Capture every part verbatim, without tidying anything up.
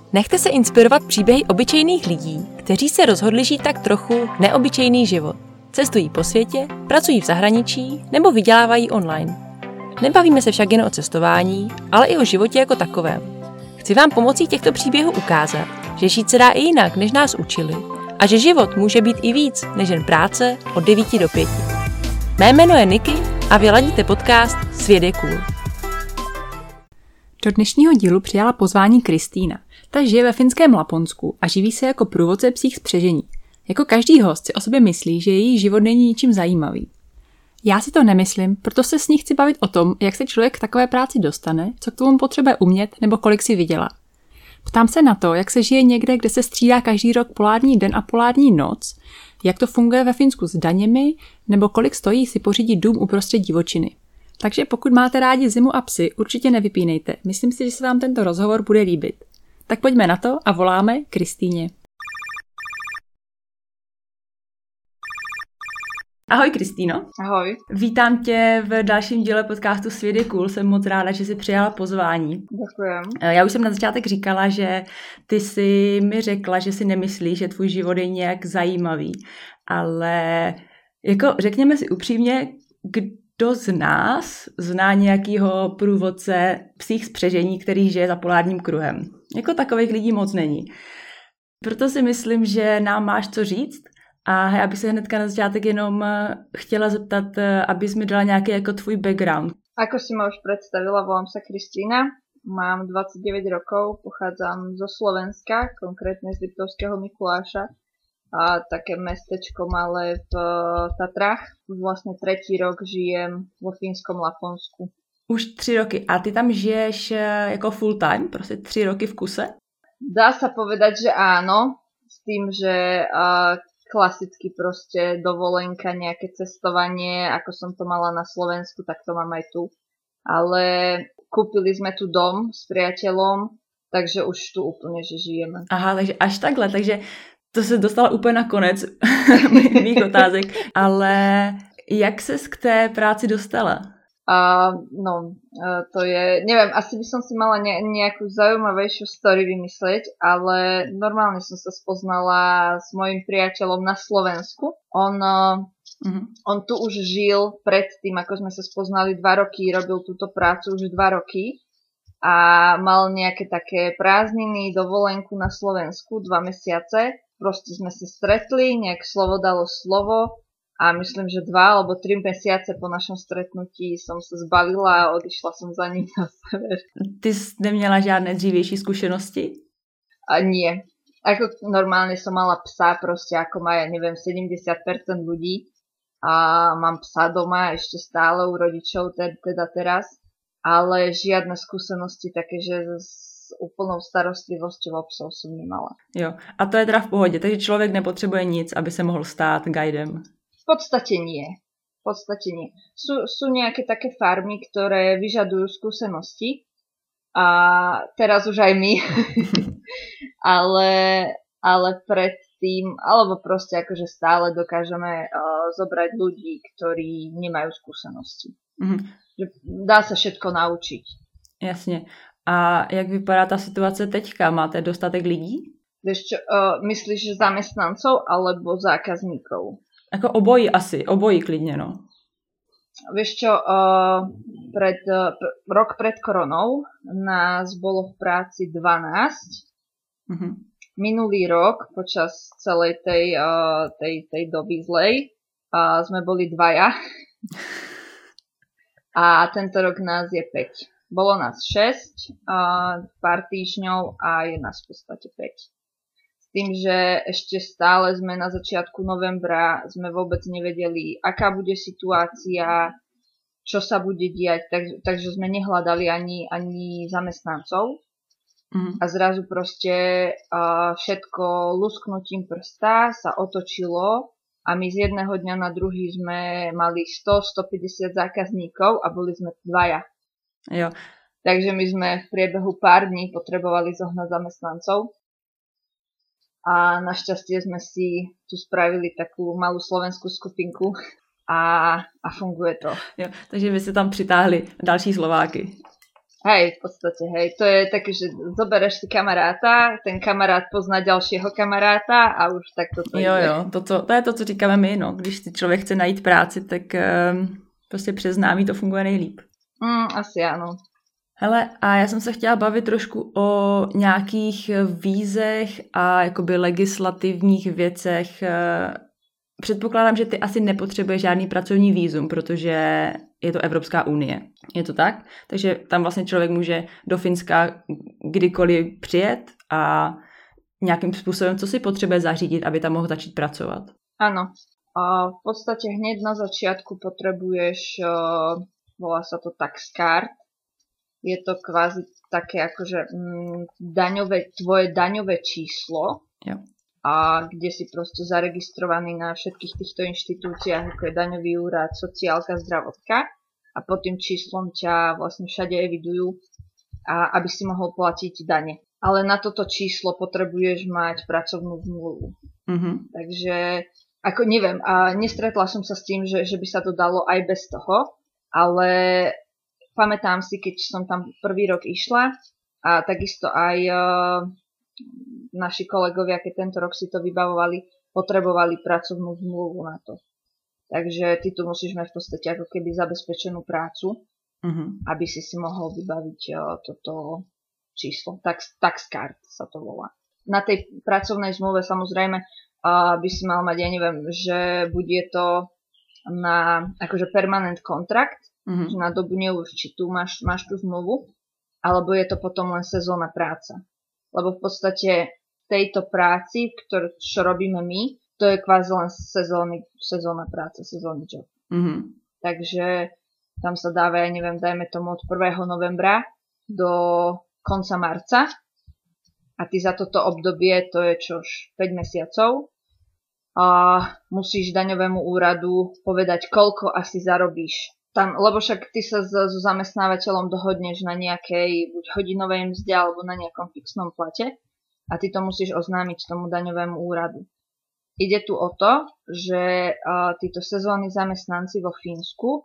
Nechte se inspirovat příběhy obyčejných lidí, kteří se rozhodli žít tak trochu neobyčejný život. Cestují po světě, pracují v zahraničí nebo vydělávají online. Nebavíme se však jen o cestování, ale i o životě jako takovém. Chci vám pomocí těchto příběhů ukázat, že žít se dá i jinak, než nás učili, a že život může být i víc, než jen práce od devíti do pěti. Mé jméno je Niky a vy ladíte podcast Svět je cool. Do dnešního dílu přijala pozvání Kristýna. Ta žije ve finském Laponsku a živí se jako průvodce psích spřežení. Jako každý host si o sobě myslí, že její život není ničím zajímavý. Já si to nemyslím, proto se s ní chci bavit o tom, jak se člověk k takové práci dostane, co k tomu potřebuje umět nebo kolik si vydělá. Ptám se na to, jak se žije někde, kde se střídá každý rok polární den a polární noc, jak to funguje ve Finsku s daněmi, nebo kolik stojí si pořídit dům uprostřed divočiny. Takže pokud máte rádi zimu a psy, určitě nevypínejte. Myslím si, že se vám tento rozhovor bude líbit. Tak pojďme na to a voláme Kristýně. Ahoj Kristýno. Ahoj. Vítám tě v dalším díle podcastu Svět je cool. Jsem moc ráda, že jsi přijala pozvání. Děkujem. Já už jsem na začátek říkala, že ty jsi mi řekla, že si nemyslíš, že tvůj život je nějak zajímavý. Ale jako řekněme si upřímně, kdo z nás zná nějakýho průvodce psích spřežení, který žije za polárním kruhem? Jako takových lidí moc není. Proto si myslím, že nám máš co říct. A já bych se hnedka na začátek jenom chtěla zeptat, abys mi dala nějaký jako tvůj background. Ako si ma už predstavila, volám sa Kristýna, mám dvadsaťdeväť rokov, pochádzam zo Slovenska, konkrétne z Liptovského Mikuláša, a také mestečko malé v Tatrách. Vlastne tretí rok žijem vo fínskom Laponsku. Už tři roky. A ty tam žiješ jako full time? Prostě tři roky v kuse? Dá sa povedať, že áno, s tým, že uh, klasicky proste dovolenka, nejaké cestovanie, ako som to mala na Slovensku, tak to mám aj tu. Ale kúpili sme tu dom s priateľom, takže už tu úplne, že žijeme. Aha, takže až takhle, takže to se dostala úplně na konec mých otázek. Ale jak ses k té práci dostala? Uh, no, uh, to je, neviem, asi by som si mala ne, nejakú zaujímavejšiu story vymyslieť, ale normálne som sa spoznala s mojím priateľom na Slovensku. On, uh, uh-huh. on tu už žil pred tým, ako sme sa spoznali dva roky, robil túto prácu už dva roky a mal nejaké také prázdniny, dovolenku na Slovensku, dva mesiace. Proste sme sa stretli, nejak slovo dalo slovo. A myslím, že dva alebo tri mesiace po našom stretnutí som sa zbalila a odišla som za ním na sever. Ty jsi neměla žádné dřívější zkušenosti? A nie. Ako normálne som mala psa, proste ako má, ja neviem, sedemdesiat percent ľudí. A mám psa doma ešte stále u rodičov, teda teraz. Ale žiadne skúsenosti také, že s úplnou starostlivosťou o psov som nemala. Jo, a to je teda v pohodě, takže člověk nepotřebuje nic, aby se mohl stát guidem. V podstate nie. V podstate nie. Sú, sú nejaké také farmy, ktoré vyžadujú skúsenosti. A teraz už aj my. ale, ale predtým, alebo proste akože stále dokážeme uh, zobrať ľudí, ktorí nemajú skúsenosti. Mm-hmm. Že dá sa všetko naučiť. Jasne. A jak vypadá ta situace teďka? Máte dostatek lidí? Vieš čo, uh, myslíš zamestnancov alebo zákazníkov? Jako obojí asi, obojí klidně, no. Vieš čo, uh, pred, uh, pr- rok pred koronou nás bolo v práci dvanásť. Mm-hmm. Minulý rok, počas celej tej, uh, tej, tej doby zlej, uh, sme boli dvaja. A tento rok nás je päť. Bolo nás šesť, uh, pár týždňov a je nás v podstate päť. Tým, že ešte stále sme na začiatku novembra, sme vôbec nevedeli, aká bude situácia, čo sa bude diať, tak, takže sme nehľadali ani, ani zamestnancov. Mm. A zrazu proste uh, všetko lusknutím prsta sa otočilo a my z jedného dňa na druhý sme mali sto až stopäťdesiat zákazníkov a boli sme dvaja. Jo. Takže my sme v priebehu pár dní potrebovali zohnať zamestnancov. A našťastie sme si tu spravili takú malú slovenskú skupinku a, a funguje to. Jo, takže vy ste tam přitáhli další Slováky. Hej, v podstate, hej, to je také, že zobereš si kamaráta, ten kamarát pozná ďalšieho kamaráta a už takto to Jo, ide. jo, to, to, to je to, co říkáme my, no. Když si člověk chce najít práci, tak um, prostě přes známí to funguje nejlíp. Mm, asi áno. Hele, a já jsem se chtěla bavit trošku o nějakých vízech a jakoby legislativních věcech. Předpokládám, že ty asi nepotřebuješ žádný pracovní vízum, protože je to Evropská unie. Je to tak? Takže tam vlastně člověk může do Finska kdykoliv přijet a nějakým způsobem, co si potřebuje zařídit, aby tam mohl začít pracovat. Áno. A v podstate hneď na začiatku potrebuješ, uh, volá sa to tax card. Je to kvázi také akože mm, daňové, tvoje daňové číslo. Jo. A kde si proste zaregistrovaný na všetkých týchto inštitúciách, ako je daňový úrad, sociálka, zdravotka a pod tým číslom ťa vlastne všade evidujú, a aby si mohol platiť dane. Ale na toto číslo potrebuješ mať pracovnú zmluvu. Mm-hmm. Takže, ako neviem, a nestretla som sa s tým, že, že by sa to dalo aj bez toho, ale pamätám si, keď som tam prvý rok išla a takisto aj uh, naši kolegovia, keď tento rok si to vybavovali, potrebovali pracovnú zmluvu na to. Takže ty tu musíš mať v podstate ako keby zabezpečenú prácu, mm-hmm. aby si si mohol vybaviť uh, toto číslo. Tax, tax card sa to volá. Na tej pracovnej zmluve samozrejme uh, by si mal mať, ja neviem, že bude to na akože permanent kontrakt, mm-hmm. že na dobu neurčitú máš, máš tú zmluvu, alebo je to potom len sezónna práca. Lebo v podstate tejto práci, ktorú, čo robíme my, to je kvázi len sezónny, sezónna práca, sezónny job. Mm-hmm. Takže tam sa dáva, ja neviem, dajme tomu od prvého novembra do konca marca a ty za toto obdobie, to je čož päť mesiacov, a musíš daňovému úradu povedať, koľko asi zarobíš. Tam, lebo však ty sa so, so zamestnávateľom dohodneš na nejakej buď hodinovej mzde alebo na nejakom fixnom plate a ty to musíš oznámiť tomu daňovému úradu. Ide tu o to, že uh, títo sezónni zamestnanci vo Fínsku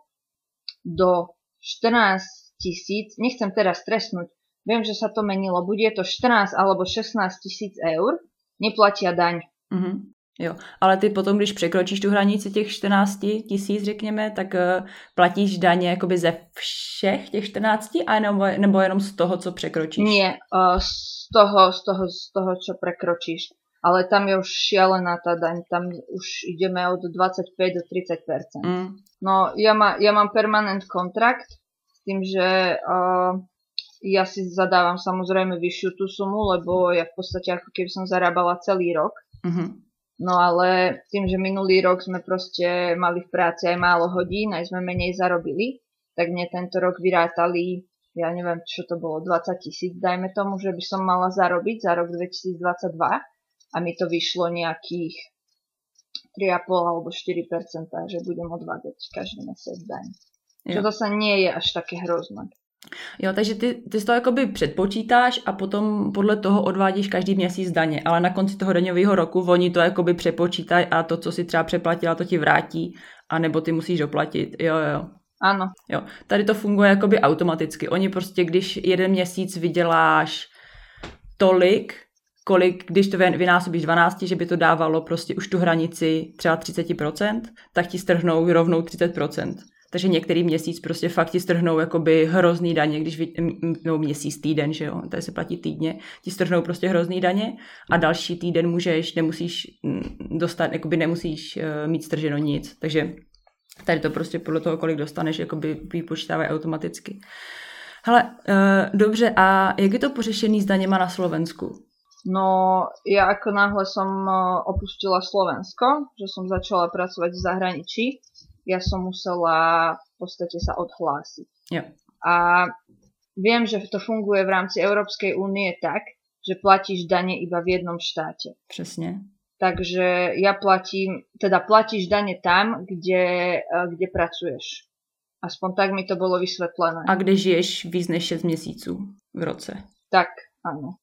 do štrnásť tisíc, nechcem teraz stresnúť, viem, že sa to menilo, bude to štrnásť alebo šestnásť tisíc eur, neplatia daň. Mm-hmm. Jo, ale ty potom, když překročíš tu hranici těch čtrnáct tisíc, řekněme, tak uh, platíš daně jakoby ze všech těch čtrnácti, a nebo, nebo jenom z toho, co překročíš? Nie, uh, z toho, z toho, z toho, čo prekročíš. Ale tam je už šialená tá daň, tam už ideme od dvadsaťpäť do tridsať percent. Mm. No, ja, má, ja mám permanent kontrakt s tým, že uh, ja si zadávam samozrejme vyššiu tú sumu, lebo ja v podstate ako keby som zarábala celý rok. Mm-hmm. No ale tým, že minulý rok sme proste mali v práci aj málo hodín, aj sme menej zarobili, tak mne tento rok vyrátali, ja neviem, čo to bolo, dvadsať tisíc, dajme tomu, že by som mala zarobiť za rok dvetisícdvadsaťdva a mi to vyšlo nejakých tri a pol alebo štyri percentá, že budem odvádzať každý mesiac daň. Čo to sa nie je až také hrozné. Jo, takže ty, ty si to jakoby předpočítáš a potom podle toho odvádíš každý měsíc daně, ale na konci toho daňového roku oni to jakoby přepočítají a to, co si třeba přeplatila, to ti vrátí, anebo ty musíš doplatit. Jo, jo. Ano. Jo, tady to funguje jakoby automaticky. Oni prostě, když jeden měsíc vyděláš tolik, kolik, když to vynásobíš dvanáct, že by to dávalo prostě už tu hranici třeba třicet procent, tak ti strhnou rovnou třicet procent. Takže některý měsíc prostě fakt ti strhnou jakoby hrozný daně, když vy, no měsíc, týden, že jo, tady se platí týdně, ti strhnou prostě hrozný daně a další týden můžeš, nemusíš dostat, jakoby nemusíš uh, mít strženo nic, takže tady to prostě podle toho, kolik dostaneš, jakoby vypočítávají automaticky. Hele, uh, dobře, a jak je to pořešený s daněma na Slovensku? No, ja ako náhle som opustila Slovensko, že som začala pracovať v zahraničí, ja som musela v podstate sa odhlásiť. Jo. A viem, že to funguje v rámci Európskej únie tak, že platíš dane iba v jednom štáte. Přesně. Takže ja platím, teda platíš dane tam, kde, kde pracuješ. Aspoň tak mi to bolo vysvetlené. A kde žiješ víc než šesť měsíců v roce. Tak, áno.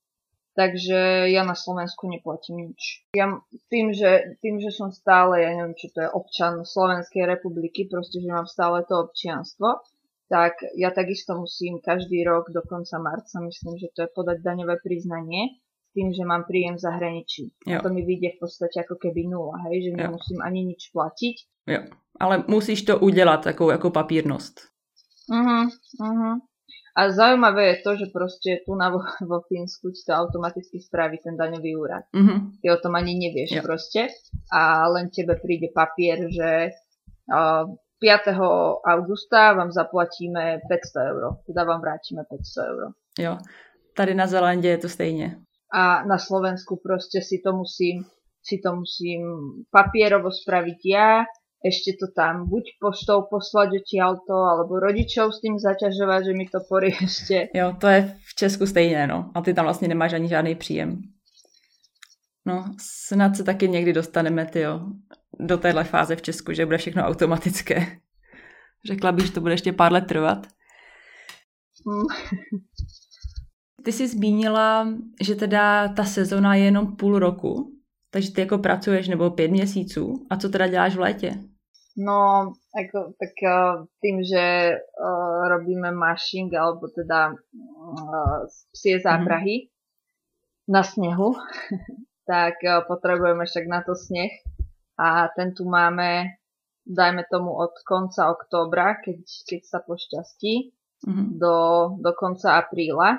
Takže ja na Slovensku neplatím nič. Ja tým, že, tým, že som stále, ja neviem, čo to je, občan Slovenskej republiky, proste, že mám stále to občianstvo, tak ja takisto musím každý rok do konca marca, myslím, že to je podať daňové priznanie s tým, že mám príjem v zahraničí. Jo. A to mi vyjde v podstate ako keby nula, hej, že jo. Nemusím ani nič platiť. Jo, ale musíš to udělat takovou jako papírnost. Uh-huh, uh-huh. A zaujímavé je to, že proste tu na vo, vo Fínsku ti to automaticky spraví ten daňový úrad. Uh-huh. Ty o tom ani nevieš jo. proste a len tebe príde papier, že uh, piateho augusta vám zaplatíme päťsto eur. Teda vám vrátime päťsto eur. Jo, tady na Zelandě je to stejně. A na Slovensku proste si to musím, si to musím papierovo spraviť ja, ešte to tam buď poštou poslať odtiaľto, alebo rodičov s tým zaťažovať, že mi to poriešte. Jo, to je v Česku stejné, no. A ty tam vlastně nemáš ani žádný příjem. No, snad se taky někdy dostaneme, tyjo, do téhle fáze v Česku, že bude všechno automatické. Řekla bych, že to bude ještě pár let trvat. Mm. Ty jsi zmínila, že teda ta sezona je jenom půl roku, takže ty jako pracuješ nebo pět měsíců. A co teda děláš v létě? No, ako, tak uh, tým, že uh, robíme mashing, alebo teda uh, psie záprahy mm-hmm. na snehu, tak uh, potrebujeme však na to sneh. A ten tu máme, dajme tomu od konca októbra, keď, keď sa pošťastí, mm-hmm. do, do konca apríla.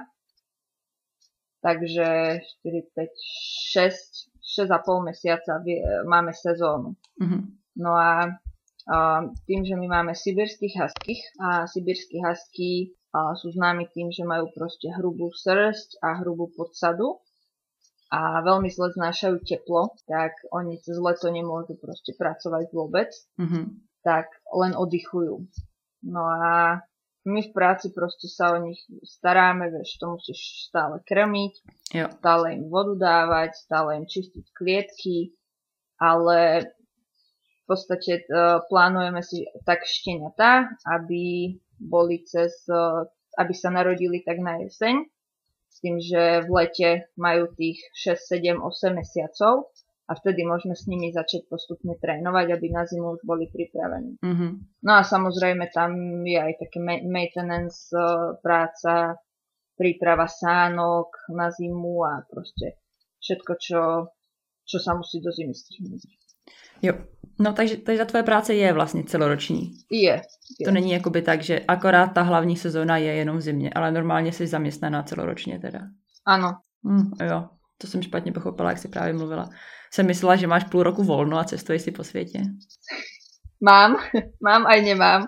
Takže štyri, päť, šesť, šesť a pol mesiaca máme sezónu. Mm-hmm. No a a tým, že my máme sibirských huských a sibirskí husky a sú známi tým, že majú proste hrubú srsť a hrubú podsadu a veľmi zle znášajú teplo, tak oni cez leto nemôžu proste pracovať vôbec, mm-hmm. tak len oddychujú. No a my v práci proste sa o nich staráme, vieš, to musíš stále krmiť, jo. Stále im vodu dávať, stále im čistiť klietky, ale v podstate uh, plánujeme si tak šteniatá, aby boli cez, uh, aby sa narodili tak na jeseň, s tým, že v lete majú tých šesť, sedem, osem mesiacov a vtedy môžeme s nimi začať postupne trénovať, aby na zimu už boli pripravení. Mm-hmm. No a samozrejme tam je aj také maintenance uh, práca, príprava sánok na zimu a proste všetko, čo, čo sa musí do zimy stihnúť. Jo, no takže, takže ta tvoje práce je vlastně celoroční. Je, je. To není jakoby tak, že akorát ta hlavní sezóna je jenom v zimě, ale normálně jsi zaměstnaná celoročně teda. Ano. Hm, jo, to jsem špatně pochopila, jak jsi právě mluvila. Jsem myslela, že máš půl roku volno a cestuješ si po světě. Mám, mám aj nemám.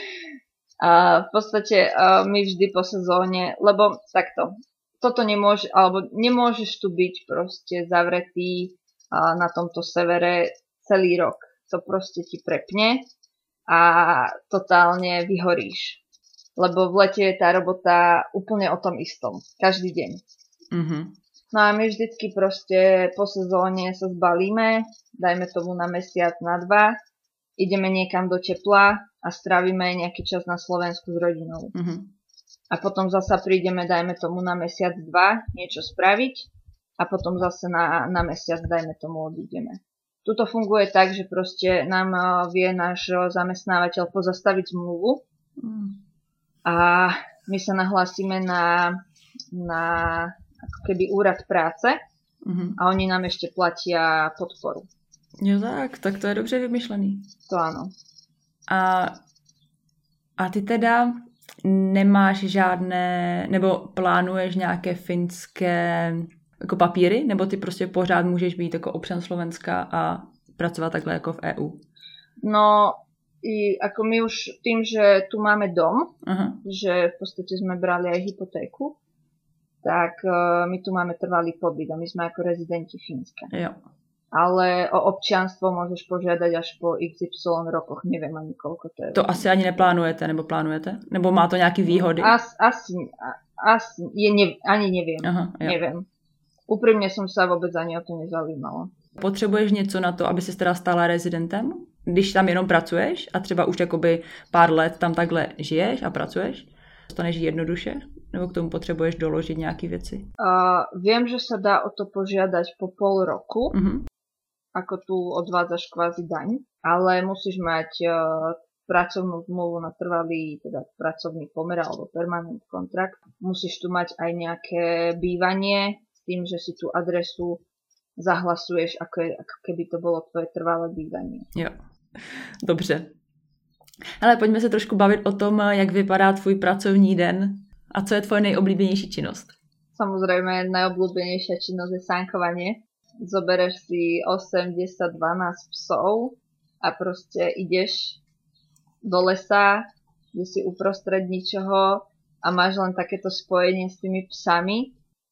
A v podstate uh, my vždy po sezóne, lebo takto, toto nemôže, alebo nemôžeš tu byť proste zavretý uh, na tomto severe celý rok. To proste ti prepne a totálne vyhoríš. Lebo v lete je tá robota úplne o tom istom. Každý deň. Mm-hmm. No a my vždycky proste po sezóne sa zbalíme, dajme tomu na mesiac, na dva, ideme niekam do tepla a strávime nejaký čas na Slovensku s rodinou. Mm-hmm. A potom zasa prídeme, dajme tomu na mesiac, dva, niečo spraviť a potom zase na, na mesiac, dajme tomu, odídeme. Tuto funguje tak, že proste nám vie náš zamestnávateľ pozastaviť zmluvu a my sa nahlásime na, na ako keby úrad práce mm-hmm. a oni nám ešte platia podporu. Jo tak, tak to je dobře vymyšlený. To áno. A, a ty teda nemáš žádné, nebo plánuješ nějaké finské jako papíry, nebo ty prostě pořád můžeš být jako občan Slovenska a pracovat takhle jako v é ú? No, i ako my už tým, že tu máme dom, aha. že v podstate sme brali aj hypotéku, tak uh, my tu máme trvalý pobyt a my sme ako rezidenti Fínska. Jo. Ale o občianstvo môžeš požiadať až po iks ypsilon rokoch, neviem ani koľko to je. To asi ani neplánujete, nebo plánujete? Nebo má to nejaké výhody? As, asi, asi je, ne, ani neviem, aha, neviem. Úprimne som sa vôbec ani o to nezaujímala. Potřebuješ něco na to, aby se teda stala rezidentem? Když tam jenom pracuješ a třeba už jakoby pár let tam takhle žiješ a pracuješ? Dostaneš jednoduše? Nebo k tomu potřebuješ doložit nějaké věci? Uh, viem, že sa dá o to požiadať po pol roku, uh-huh. ako tu odvádzaš kvázi daň, ale musíš mať uh, pracovnú zmluvu na trvalý teda pracovný pomer alebo permanent kontrakt. Musíš tu mať aj nejaké bývanie s tým, že si tú adresu zahlasuješ, ako, je, ako keby to bolo tvoje trvalé bývanie. Jo, dobře. Ale pojďme se trošku bavit o tom, jak vypadá tvůj pracovní den a co je tvoje nejoblíbenější činnost. Samozrejme, najobľúbenejšia činnosť je sánkovanie. Zobereš si osem, desať, dvanásť psov a proste ideš do lesa, kde si uprostred ničoho a máš len takéto spojenie s tými psami,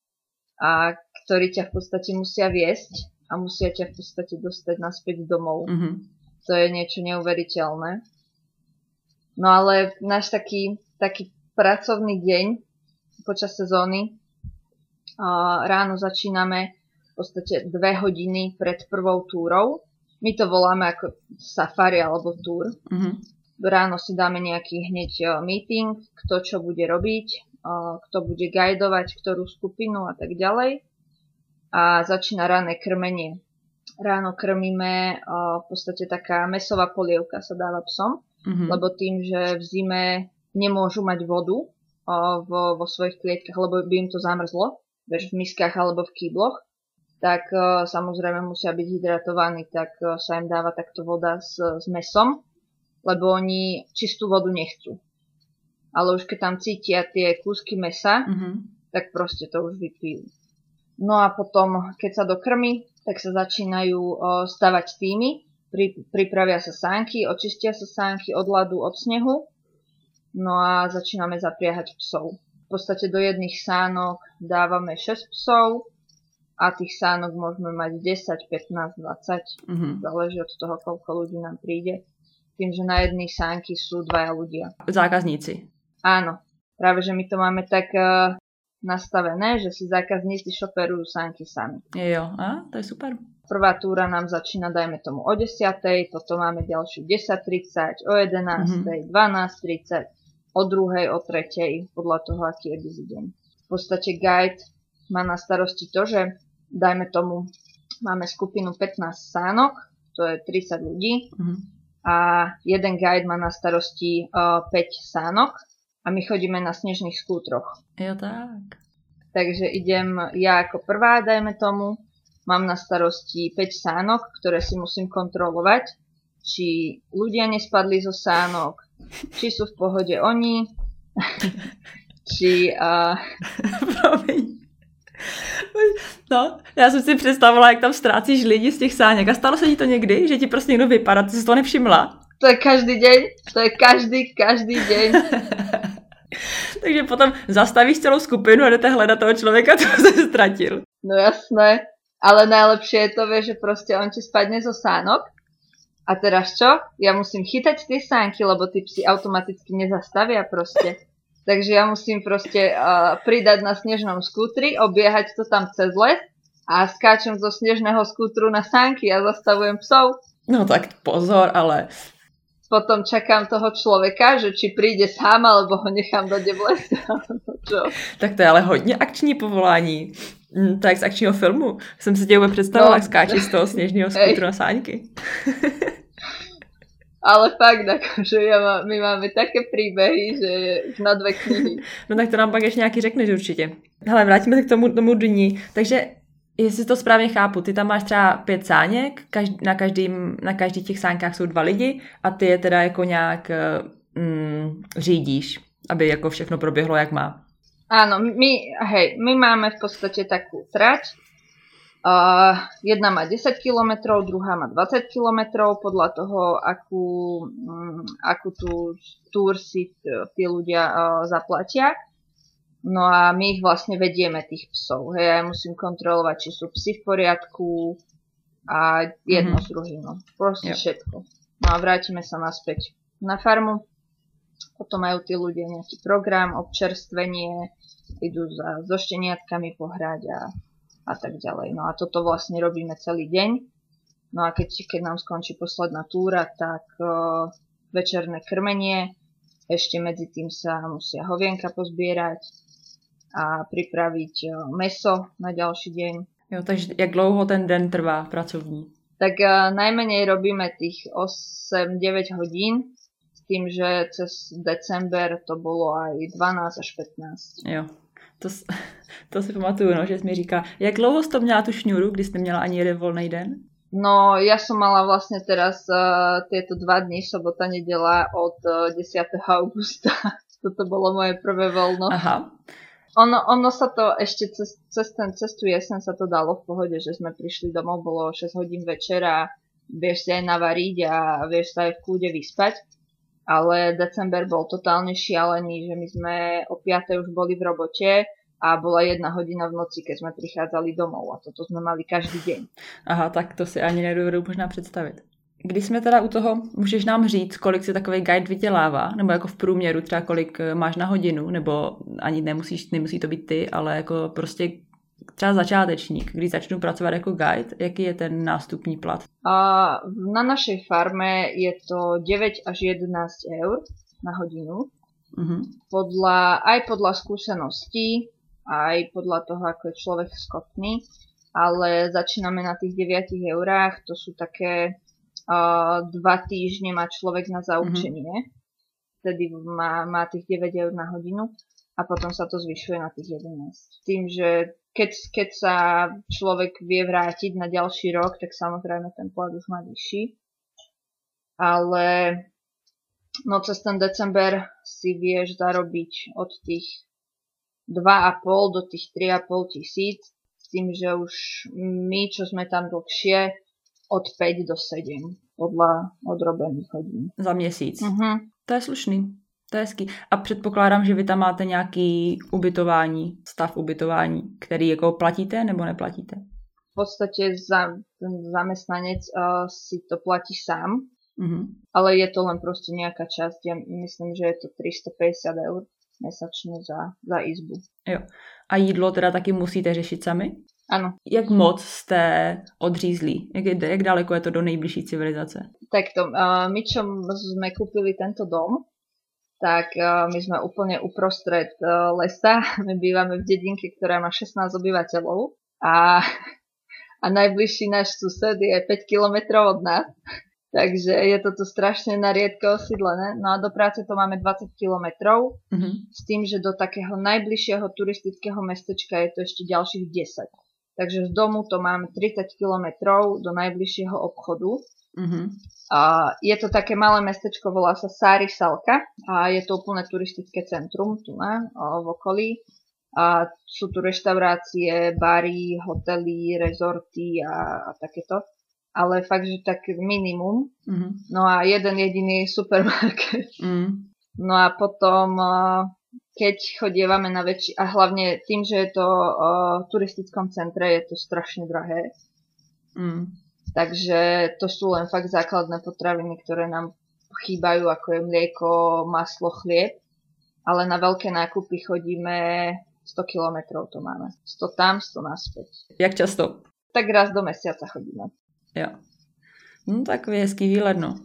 a ktorí ťa v podstate musia viesť a musia ťa v podstate dostať naspäť domov. Mm-hmm. To je niečo neuveriteľné. No ale náš taký, taký pracovný deň počas sezóny, ráno začíname v podstate dve hodiny pred prvou túrou. My to voláme ako safari alebo túr. Mm-hmm. Ráno si dáme nejaký hneď meeting, kto čo bude robiť, kto bude guidovať ktorú skupinu a tak ďalej. A začína ranné krmenie. Ráno krmíme v podstate taká mäsová polievka sa dáva psom, mm-hmm. lebo tým, že v zime nemôžu mať vodu vo, vo svojich klietkach, lebo by im to zamrzlo, v miskách alebo v kýbloch, tak uh, samozrejme musia byť hydratovaní, tak uh, sa im dáva takto voda s, s mäsom, lebo oni čistú vodu nechcú. Ale už keď tam cítia tie kúsky mäsa, mm-hmm. tak proste to už vypijú. No a potom, keď sa dokrmi, tak sa začínajú uh, stavať týmy, pri, pripravia sa sánky, očistia sa sánky od ľadu, od snehu, no a začíname zapriahať psov. V podstate do jedných sánok dávame šesť psov a tých sánok môžeme mať desať, pätnásť, dvadsať. Mm-hmm. Záleží od toho, koľko ľudí nám príde. Tým, že na jednej sánky sú dvaja ľudia. Zákazníci. Áno. Práve, že my to máme tak uh, nastavené, že si zákazníci šoperujú sánky sami. Jo, a to je super. Prvá túra nám začína, dajme tomu, o desiatej, potom máme ďalšiu desať tridsať, o jedenástej, mm-hmm. dvanásť tridsať. O druhej, o tretej, podľa toho, aký je busy deň. V podstate guide má na starosti to, že dajme tomu, máme skupinu pätnásť sánok, to je tridsať ľudí, mm-hmm. a jeden guide má na starosti uh, päť sánok a my chodíme na snežných skútroch. Jo, tak. Takže idem ja ako prvá, dajme tomu, mám na starosti päť sánok, ktoré si musím kontrolovať, či ľudia nespadli zo sánok, či sú v pohode oni, či... Uh... No, já jsem si představila, jak tam ztrácíš lidi z těch sáněk. A stalo se ti to někdy, že ti prostě někdo vypadá, ty jsi to nevšimla? To je každý deň, to je každý, každý deň. Takže potom zastavíš celou skupinu a jdete hledat toho člověka, co se ztratil. No jasné, ale najlepšie je to, vieš, že proste on ti spadne zo sánok. A teraz čo? Ja musím chytať tie sánky, lebo tí psi automaticky nezastavia proste. Takže ja musím proste uh, pridať na snežnom skútri, obiehať to tam cez les a skáčem zo snežného skútru na sánky a zastavujem psov. No tak pozor, ale... Potom čakám toho človeka, že či príde sám, alebo ho nechám dať v lese. Tak to je ale hodně akční povolání. Tak z akčního filmu. Jsem si tě vůbec představila, no, jak skáčeš z toho sněžného skútru na sáňky. Ale fakt, akože ja má, my máme také príbehy, že je na dve knihy. No tak to nám pak ještě nějaký řekneš určitě. Hele, vrátíme se k tomu, tomu dní. Takže, jestli to správně chápu, ty tam máš třeba pět sáněk, každý, na, každým, na každých těch sáňkách jsou dva lidi a ty je teda jako nějak mm, řídíš, aby jako všechno proběhlo, jak má. Áno, my, hej, my máme v podstate takú trať. Uh, jedna má desať kilometrov, druhá má dvadsať kilometrov, podľa toho, akú, um, akú tú túr si tí ľudia uh, zaplatia. No a my ich vlastne vedieme, tých psov. Hej, ja musím kontrolovať, či sú psi v poriadku a jedno mm-hmm. s druhým. Proste yep. všetko. No a vrátime sa naspäť na farmu. Potom majú tí ľudia nejaký program, občerstvenie, idú za, so šteniatkami pohrať a, a tak ďalej. No a toto vlastne robíme celý deň. No a keď, keď nám skončí posledná túra, tak uh, večerné krmenie, ešte medzi tým sa musia hovienka pozbierať a pripraviť uh, mäso na ďalší deň. Jo, takže jak dlouho ten den trvá pracovní? Tak uh, najmenej robíme tých osem deväť hodín. tým, že cez december to bolo aj dvanásť až pätnásť. Jo, to, to si pamatuju, no, že jsi mi říká, jak dlouho jsi to měla tu šňůru, když jsi neměla ani jeden volný den? No, ja som mala vlastne teraz uh, tieto dva dni, sobota, nedela od uh, desiateho augusta. Toto bolo moje prvé voľno. Aha. Ono, ono sa to ešte cez, cez, ten, cez tú jesen sa to dalo v pohode, že sme prišli domov, bolo šesť hodín večera, vieš si aj navariť a vieš sa aj v kľude vyspať. Ale december bol totálne šialený, že my sme o piatej už boli v robote a bola jedna hodina v noci, keď sme prichádzali domov a toto sme mali každý deň. Aha, tak to si ani nedovedu možná představit. Když jsme teda u toho, můžeš nám říct, kolik si takový guide vydělává, nebo jako v průměru třeba kolik máš na hodinu, nebo ani nemusíš, nemusí to být ty, ale jako prostě třeba začátečník, když začnu pracovat jako guide, jaký je ten nástupní plat? A na našej farme je to deväť až jedenásť eur na hodinu. Uh-huh. Podľa, aj podľa skúseností, aj podľa toho, ako je človek schopný, ale začíname na tých deviatich eurách, to sú také uh, dva týždne má človek na zaučenie, mm-hmm. vtedy má, má tých deväť eur na hodinu a potom sa to zvyšuje na tých jedenásť. Tým, že keď, keď sa človek vie vrátiť na ďalší rok, tak samozrejme ten plat už má vyšší, ale no cez ten december si vieš zarobiť od tých dva a pol do tých tri a pol tisíc, s tým, že už my, čo sme tam dlhšie, od päť do sedem, podľa odrobených hodín. Za měsíc. Uh-huh. To je slušný, to je hezký. A předpokládám, že vy tam máte nějaký ubytování, stav ubytování, který jako platíte nebo neplatíte? V podstate za, ten zamestnanec uh, si to platí sám, uh-huh. ale je to len proste nejaká časť. Ja myslím, že je to tristopäťdesiat eur mesačně za, za izbu. Jo. A jídlo teda taky musíte řešit sami? Ano. Jak moc jste odřízlí? Jak, je, jak daleko je to do nejbližší civilizace? Takto, uh, my čo sme kúpili tento dom, tak uh, my sme úplne uprostred uh, lesa. My bývame v dedinke, ktorá má šestnásť obyvateľov a, a najbližší náš sused je päť kilometrov od nás. Takže je to tu strašne na riedko osídlené. No a do práce to máme dvadsať kilometrov, mm-hmm. s tým, že do takého najbližšieho turistického mestečka je to ešte ďalších desať. Takže z domu to máme tridsať kilometrov do najbližšieho obchodu. Mm-hmm. A je to také malé mestečko, volá sa Sári Salka a je to úplne turistické centrum tu na, v okolí. A sú tu reštaurácie, bary, hotely, rezorty a, a takéto. Ale fakt, že tak minimum. Mm-hmm. No a jeden jediný supermarket. Mm. No a potom, keď chodievame na väčší, a hlavne tým, že je to v turistickom centre, je to strašne drahé. Mm. Takže to sú len fakt základné potraviny, ktoré nám chýbajú, ako je mlieko, maslo, chlieb. Ale na veľké nákupy chodíme sto kilometrov, to máme. sto tam, sto naspäť. Jak často? Tak raz do mesiaca chodíme. Jo. No takový hezký výlet, no.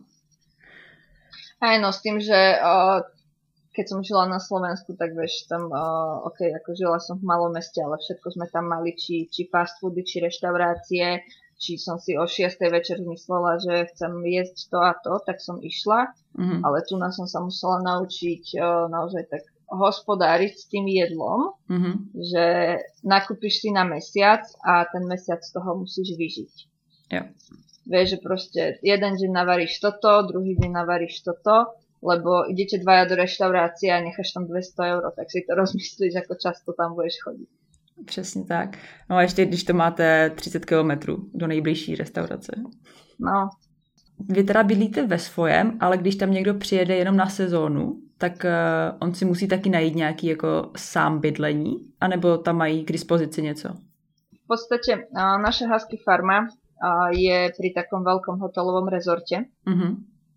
Aj no, s tým, že uh, keď som žila na Slovensku, tak vieš, tam, uh, ok, ako žila som v malom meste, ale všetko sme tam mali, či, či fast foody, či reštaurácie, či som si o šiestej večer myslela, že chcem jesť to a to, tak som išla, mm-hmm. ale tu nás som sa musela naučiť uh, naozaj tak hospodáriť s tým jedlom, mm-hmm. že nakúpiš si na mesiac a ten mesiac z toho musíš vyžiť. Jo. Vieš, že proste jeden deň navaríš toto, druhý deň navaríš toto, lebo idete dvaja do reštaurácie a necháš tam dvesto eur, tak si to rozmyslíš, ako často tam budeš chodiť. Přesně tak. No a ještě, když to máte třicet kilometrů do nejbližší restaurace. No. Vy teda bydlíte ve svojem, ale když tam někdo přijede jenom na sezónu, tak uh, on si musí taky najít nějaký jako sám bydlení, anebo tam mají k dispozici něco? V podstate uh, naša husky farma uh, je pri takom veľkom hotelovom rezorte. Mm-hmm.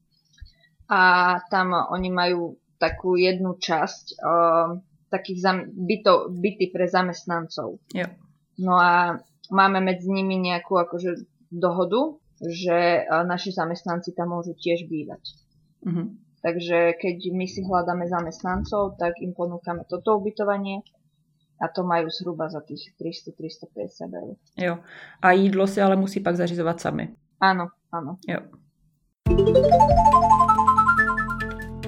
A tam oni majú takú jednu časť uh, takých zam- byto, byty pre zamestnancov. Jo. No a máme medzi nimi nejakú akože dohodu, že uh, naši zamestnanci tam môžu tiež bývať. Mm-hmm. Takže keď my si hľadáme zamestnancov, tak im ponúkame toto ubytovanie a to majú zhruba za tých tristo až tristopäťdesiat eur. Jo. A jídlo si ale musí pak zařizovat sami. Áno, áno. Jo.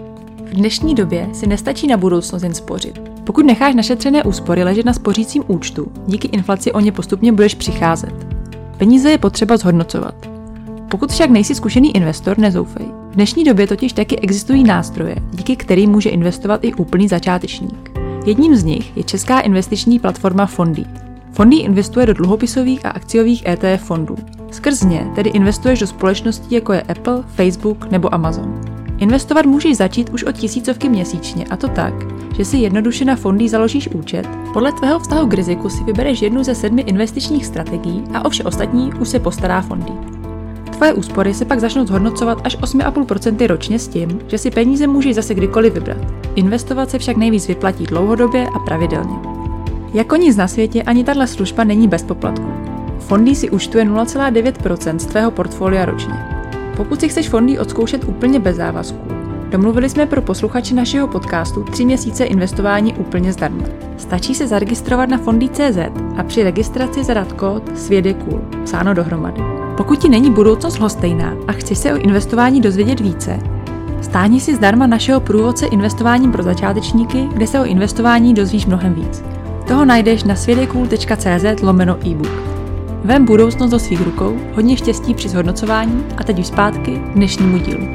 V dnešní době si nestačí na budoucnost jen spořit. Pokud necháš našetřené úspory ležet na spořícím účtu, díky inflaci o ně postupně budeš přicházet. Peníze je potřeba zhodnocovat. Pokud však nejsi zkušený investor, nezoufej. V dnešní době totiž taky existují nástroje, díky kterým může investovat i úplný začátečník. Jedním z nich je česká investiční platforma Fondy. Fondy investuje do dluhopisových a akciových E T F fondů. Skrz ně tedy investuješ do společností jako je Apple, Facebook nebo Amazon. Investovat můžeš začít už od tisícovky měsíčně, a to tak, že si jednoduše na Fondy založíš účet, podle tvého vztahu k riziku si vybereš jednu ze sedmi investičních strategií a o vše ostatní už se postará Fondy. Tvoje úspory se pak začnou zhodnocovat až osm celá pět procenta ročně s tím, že si peníze můžeš zase kdykoliv vybrat. Investovat se však nejvíc vyplatí dlouhodobě a pravidelně. Jako nic na světě ani tato služba není bez poplatku. Fondy si účtuje nula celá devět procenta z tvého portfolia ročně. Pokud si chceš Fondy odzkoušet úplně bez závazků, domluvili jsme pro posluchače našeho podcastu tři měsíce investování úplně zdarma. Stačí se zaregistrovat na fondy tečka cé zet a při registraci zadat kód Svět je cool, psáno dohromady. Pokud ti není budoucnost lhostejná a chceš se o investování dozvědět více, stáhni si zdarma našeho průvodce investováním pro začátečníky, kde se o investování dozvíš mnohem víc. Toho najdeš na světjecool tečka cé zet lomeno e-book. Vem budoucnost do svých rukou, hodně štěstí při zhodnocování a teď už zpátky k dnešnímu dílu.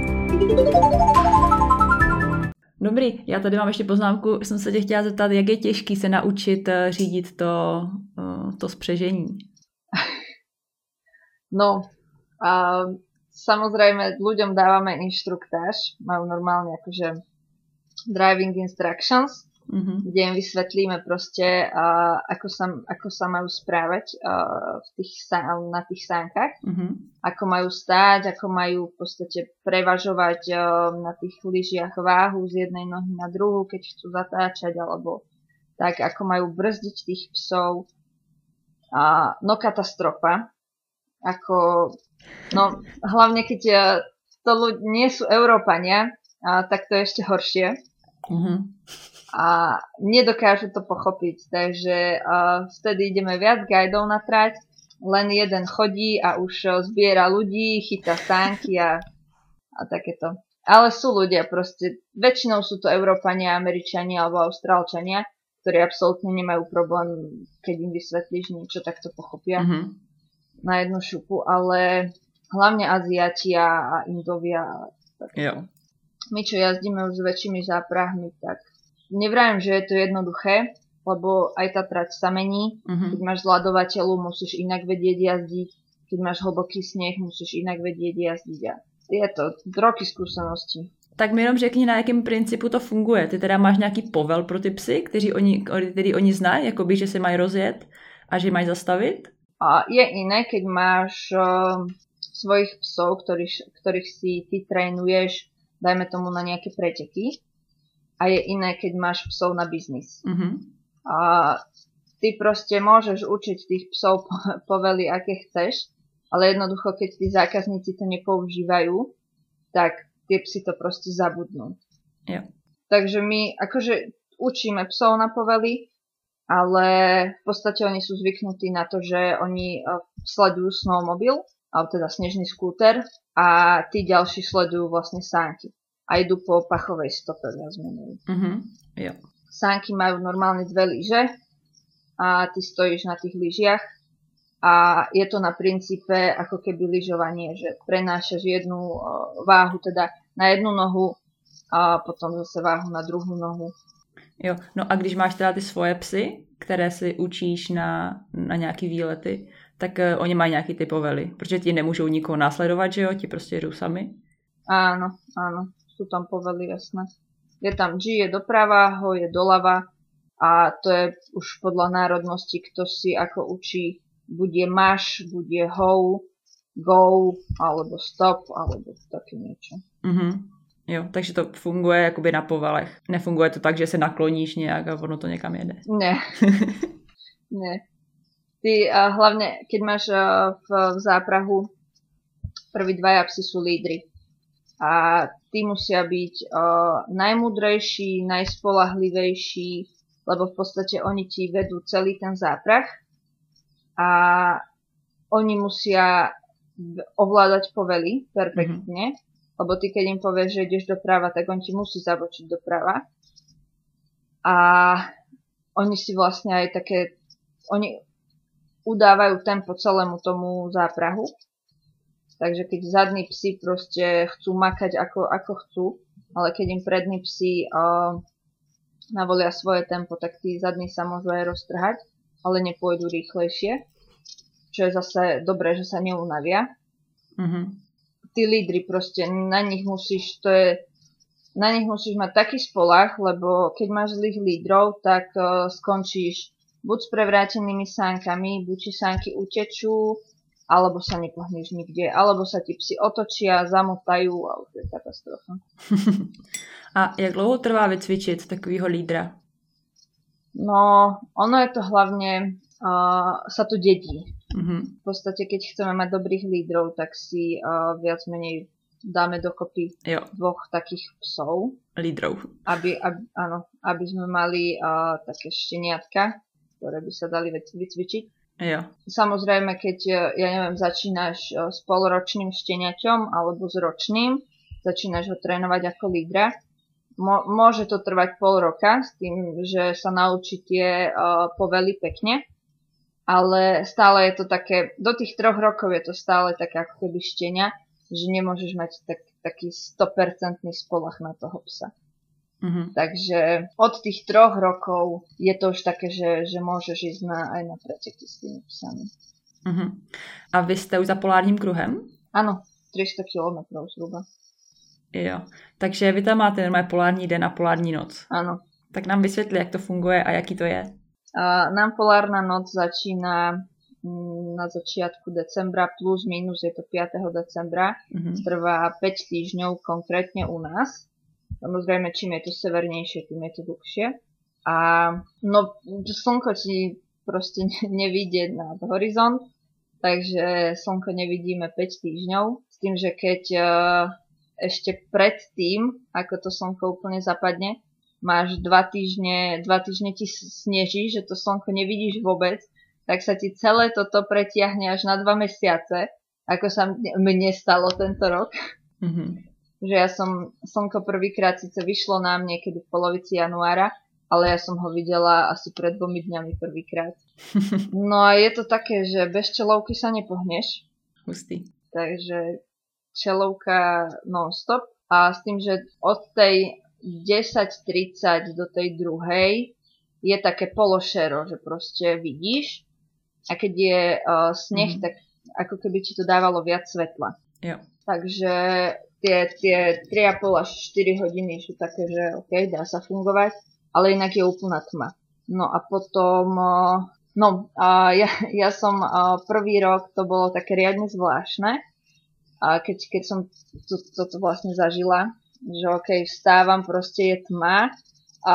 Dobrý, já tady mám ještě poznámku, jsem se tě chtěla zeptat, jak je těžký se naučit řídit to, to spřežení. No, a samozrejme ľuďom dávame inštruktáž, majú normálne akože driving instructions, mm-hmm. kde im vysvetlíme proste, a, ako, sa, ako sa majú správať a, v tých, na tých sánkach, mm-hmm. ako majú stáť, ako majú v podstate prevažovať a, na tých lyžiach váhu z jednej nohy na druhú, keď chcú zatáčať, alebo tak, ako majú brzdiť tých psov. A, no katastrofa. Ako, no hlavne keď to ľudí nie sú Európania, a, tak to je ešte horšie. Mm-hmm. A nedokážu to pochopiť, takže a, vtedy ideme viac guidov na trať, len jeden chodí a už zbiera ľudí, chytá sánky a, a takéto. Ale sú ľudia proste, väčšinou sú to Európania, Američania alebo Austrálčania, ktorí absolútne nemajú problém, keď im vysvetlíš niečo, tak to pochopia. Mm-hmm. Na jednu šupu, ale hlavne Aziati a Indovia. Jo. My, čo jazdíme už s väčšími záprahmi, tak nevrajím, že je to jednoduché, lebo aj tá trať sa mení. Mm-hmm. Keď máš zľadovateľu, musíš inak vedieť jazdiť. Keď máš hlboký sneh, musíš inak vedieť jazdiť. A je to roky skúsenosti. Tak mi jenom řekni, na jakém principu to funguje. Ty teda máš nějaký povel pro ty psy, kteří oni, který oni znají, jakoby, že se mají rozjet a že mají zastavit? A je iné, keď máš uh, svojich psov, ktorých, ktorých si ty trénuješ, dajme tomu na nejaké preteky. A je iné, keď máš psov na biznis. Mm-hmm. A ty proste môžeš učiť tých psov povely, aké chceš, ale jednoducho, keď tí zákazníci to nepoužívajú, tak tie psy to proste zabudnú. Yeah. Takže my akože učíme psov na povely, ale v podstate oni sú zvyknutí na to, že oni sledujú snowmobil, alebo teda snežný skúter a tí ďalší sledujú vlastne sánky a idú po pachovej stope viac menej. Mm-hmm. Jo. Sánky majú normálne dve lyže a ty stojíš na tých lyžiach a je to na princípe ako keby lyžovanie, že prenášaš jednu váhu teda na jednu nohu a potom zase váhu na druhú nohu. Jo, no a když máš teda ty svoje psy, které si učíš na, na nějaký výlety, tak uh, oni mají nějaký ty povely, protože ti nemůžou nikoho následovat, že jo, ti prostě jedou sami. Áno, áno, sú tam povely, jasné. Je tam G, je doprava, ho je doľava a to je už podľa národnosti, kto si ako učí, buď je maš, buď je ho, go, alebo stop, alebo také niečo. Mhm. Jo, takže to funguje jakoby na povelech. Nefunguje to tak, že se nakloníš nějak a ono to někam jede. Ne. Ne. Ty uh, hlavne, keď máš uh, v, v záprahu, prví dvaja psi sú lídri. A tí musia byť uh, najmudrejší, najspolahlivejší, lebo v podstate oni ti vedú celý ten záprah a oni musia ovládať povely perfektne. Mm-hmm. Lebo ty, keď im povieš, že ideš doprava, tak on ti musí zabočiť doprava. A oni si vlastne aj také, oni udávajú tempo celému tomu záprahu. Takže keď zadní psi proste chcú makať ako, ako chcú, ale keď im prední psi uh, navolia svoje tempo, tak tí zadní sa môžu aj roztrhať, ale nepôjdu rýchlejšie. Čo je zase dobré, že sa neunavia. Mm-hmm. Tí lídri proste, na nich musíš, to je, na nich musíš mať taký spolach, lebo keď máš zlých lídrov, tak uh, skončíš buď s prevrátenými sánkami, buď ti sánky utečú, alebo sa nepohneš nikde, alebo sa ti psi otočia, zamotajú a už je katastrofa. A jak dlouho trvá vycvičit takovýho lídra? No, ono je to hlavne, uh, sa to dedí. Mm-hmm. V podstate, keď chceme mať dobrých lídrov, tak si uh, viac menej dáme dokopy jo. dvoch takých psov. Lídrov. Aby, aby, áno, aby sme mali uh, také šteniatka, ktoré by sa dali vycvičiť. Jo. Samozrejme, keď, ja neviem, začínaš s polročným šteniaťom alebo s ročným, začínaš ho trénovať ako lídra, Mo- môže to trvať pol roka s tým, že sa naučí tie uh, povely pekne, ale stále je to také, do tých troch rokov je to stále také ako keby štenia, že nemôžeš mať tak, taký sto percent spolach na toho psa. Mm-hmm. Takže od tých troch rokov je to už také, že, že môžeš ísť na, aj na preteky s tými psami. Mm-hmm. A vy jste už za polárním kruhem? Ano, tři sta kilometrov zhruba. Jo, takže vy tam máte normálně polární den a polární noc. Ano. Tak nám vysvětli, jak to funguje a jaký to je. A nám polárna noc začína na začiatku decembra, plus minus je to piateho decembra. Mm-hmm. Trvá päť týždňov konkrétne u nás. Samozrejme, čím je to severnejšie, tým je to dlhšie. A no, slnko ti proste nevidie nad horizont, takže slnko nevidíme päť týždňov. S tým, že keď uh, ešte pred tým, ako to slnko úplne zapadne, máš dva týždne, dva týždne ti sneží, že to slnko nevidíš vôbec, tak sa ti celé toto pretiahne až na dva mesiace, ako sa mne stalo tento rok. Mm-hmm. Že ja som, slnko prvýkrát síce vyšlo nám niekedy v polovici januára, ale ja som ho videla asi pred dvomi dňami prvýkrát. No a je to také, že bez čelovky sa nepohneš. Hustý. Takže čelovka non-stop. A s tým, že od tej desať tridsať do tej druhej je také pološero, že proste vidíš. A keď je uh, sneh, mm. tak ako keby ti to dávalo viac svetla. Jo. Takže tie, tie tri a pol až štyri hodiny sú také, že OK, dá sa fungovať, ale inak je úplná tma. No a potom, no a ja, ja som prvý rok, to bolo také riadne zvláštne, a keď, keď som to, toto vlastne zažila, že OK, vstávam, proste je tma a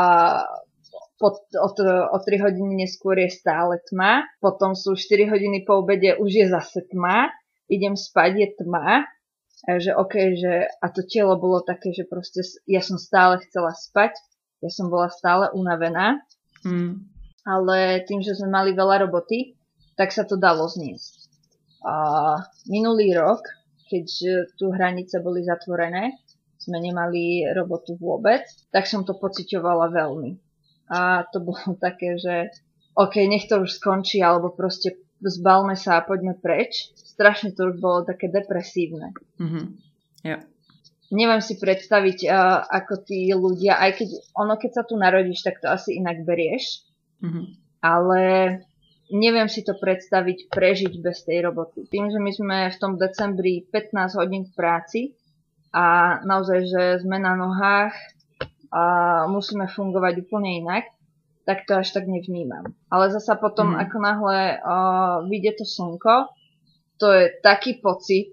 pod, od, o tri hodiny neskôr je stále tma, potom sú štyri hodiny po obede, už je zase tma, idem spať, je tma. Že OK, že a to telo bolo také, že proste ja som stále chcela spať, ja som bola stále unavená, mm. ale tým, že sme mali veľa roboty, tak sa to dalo zniesť. A minulý rok, keď tu hranice boli zatvorené, sme nemali robotu vôbec, tak som to pociťovala veľmi. A to bolo také, že OK, nech to už skončí, alebo proste zbalme sa a poďme preč. Strašne to už bolo také depresívne. Mm-hmm. Yeah. Neviem si predstaviť, uh, ako tí ľudia, aj keď ono, keď sa tu narodíš, tak to asi inak berieš. Mm-hmm. Ale neviem si to predstaviť, prežiť bez tej roboty. Tým, že my sme v tom decembri pätnásť hodín v práci a naozaj, že sme na nohách a musíme fungovať úplne inak, tak to až tak nevnímam. Ale zasa potom, mm. ako náhle uh, vyjde to slnko, to je taký pocit.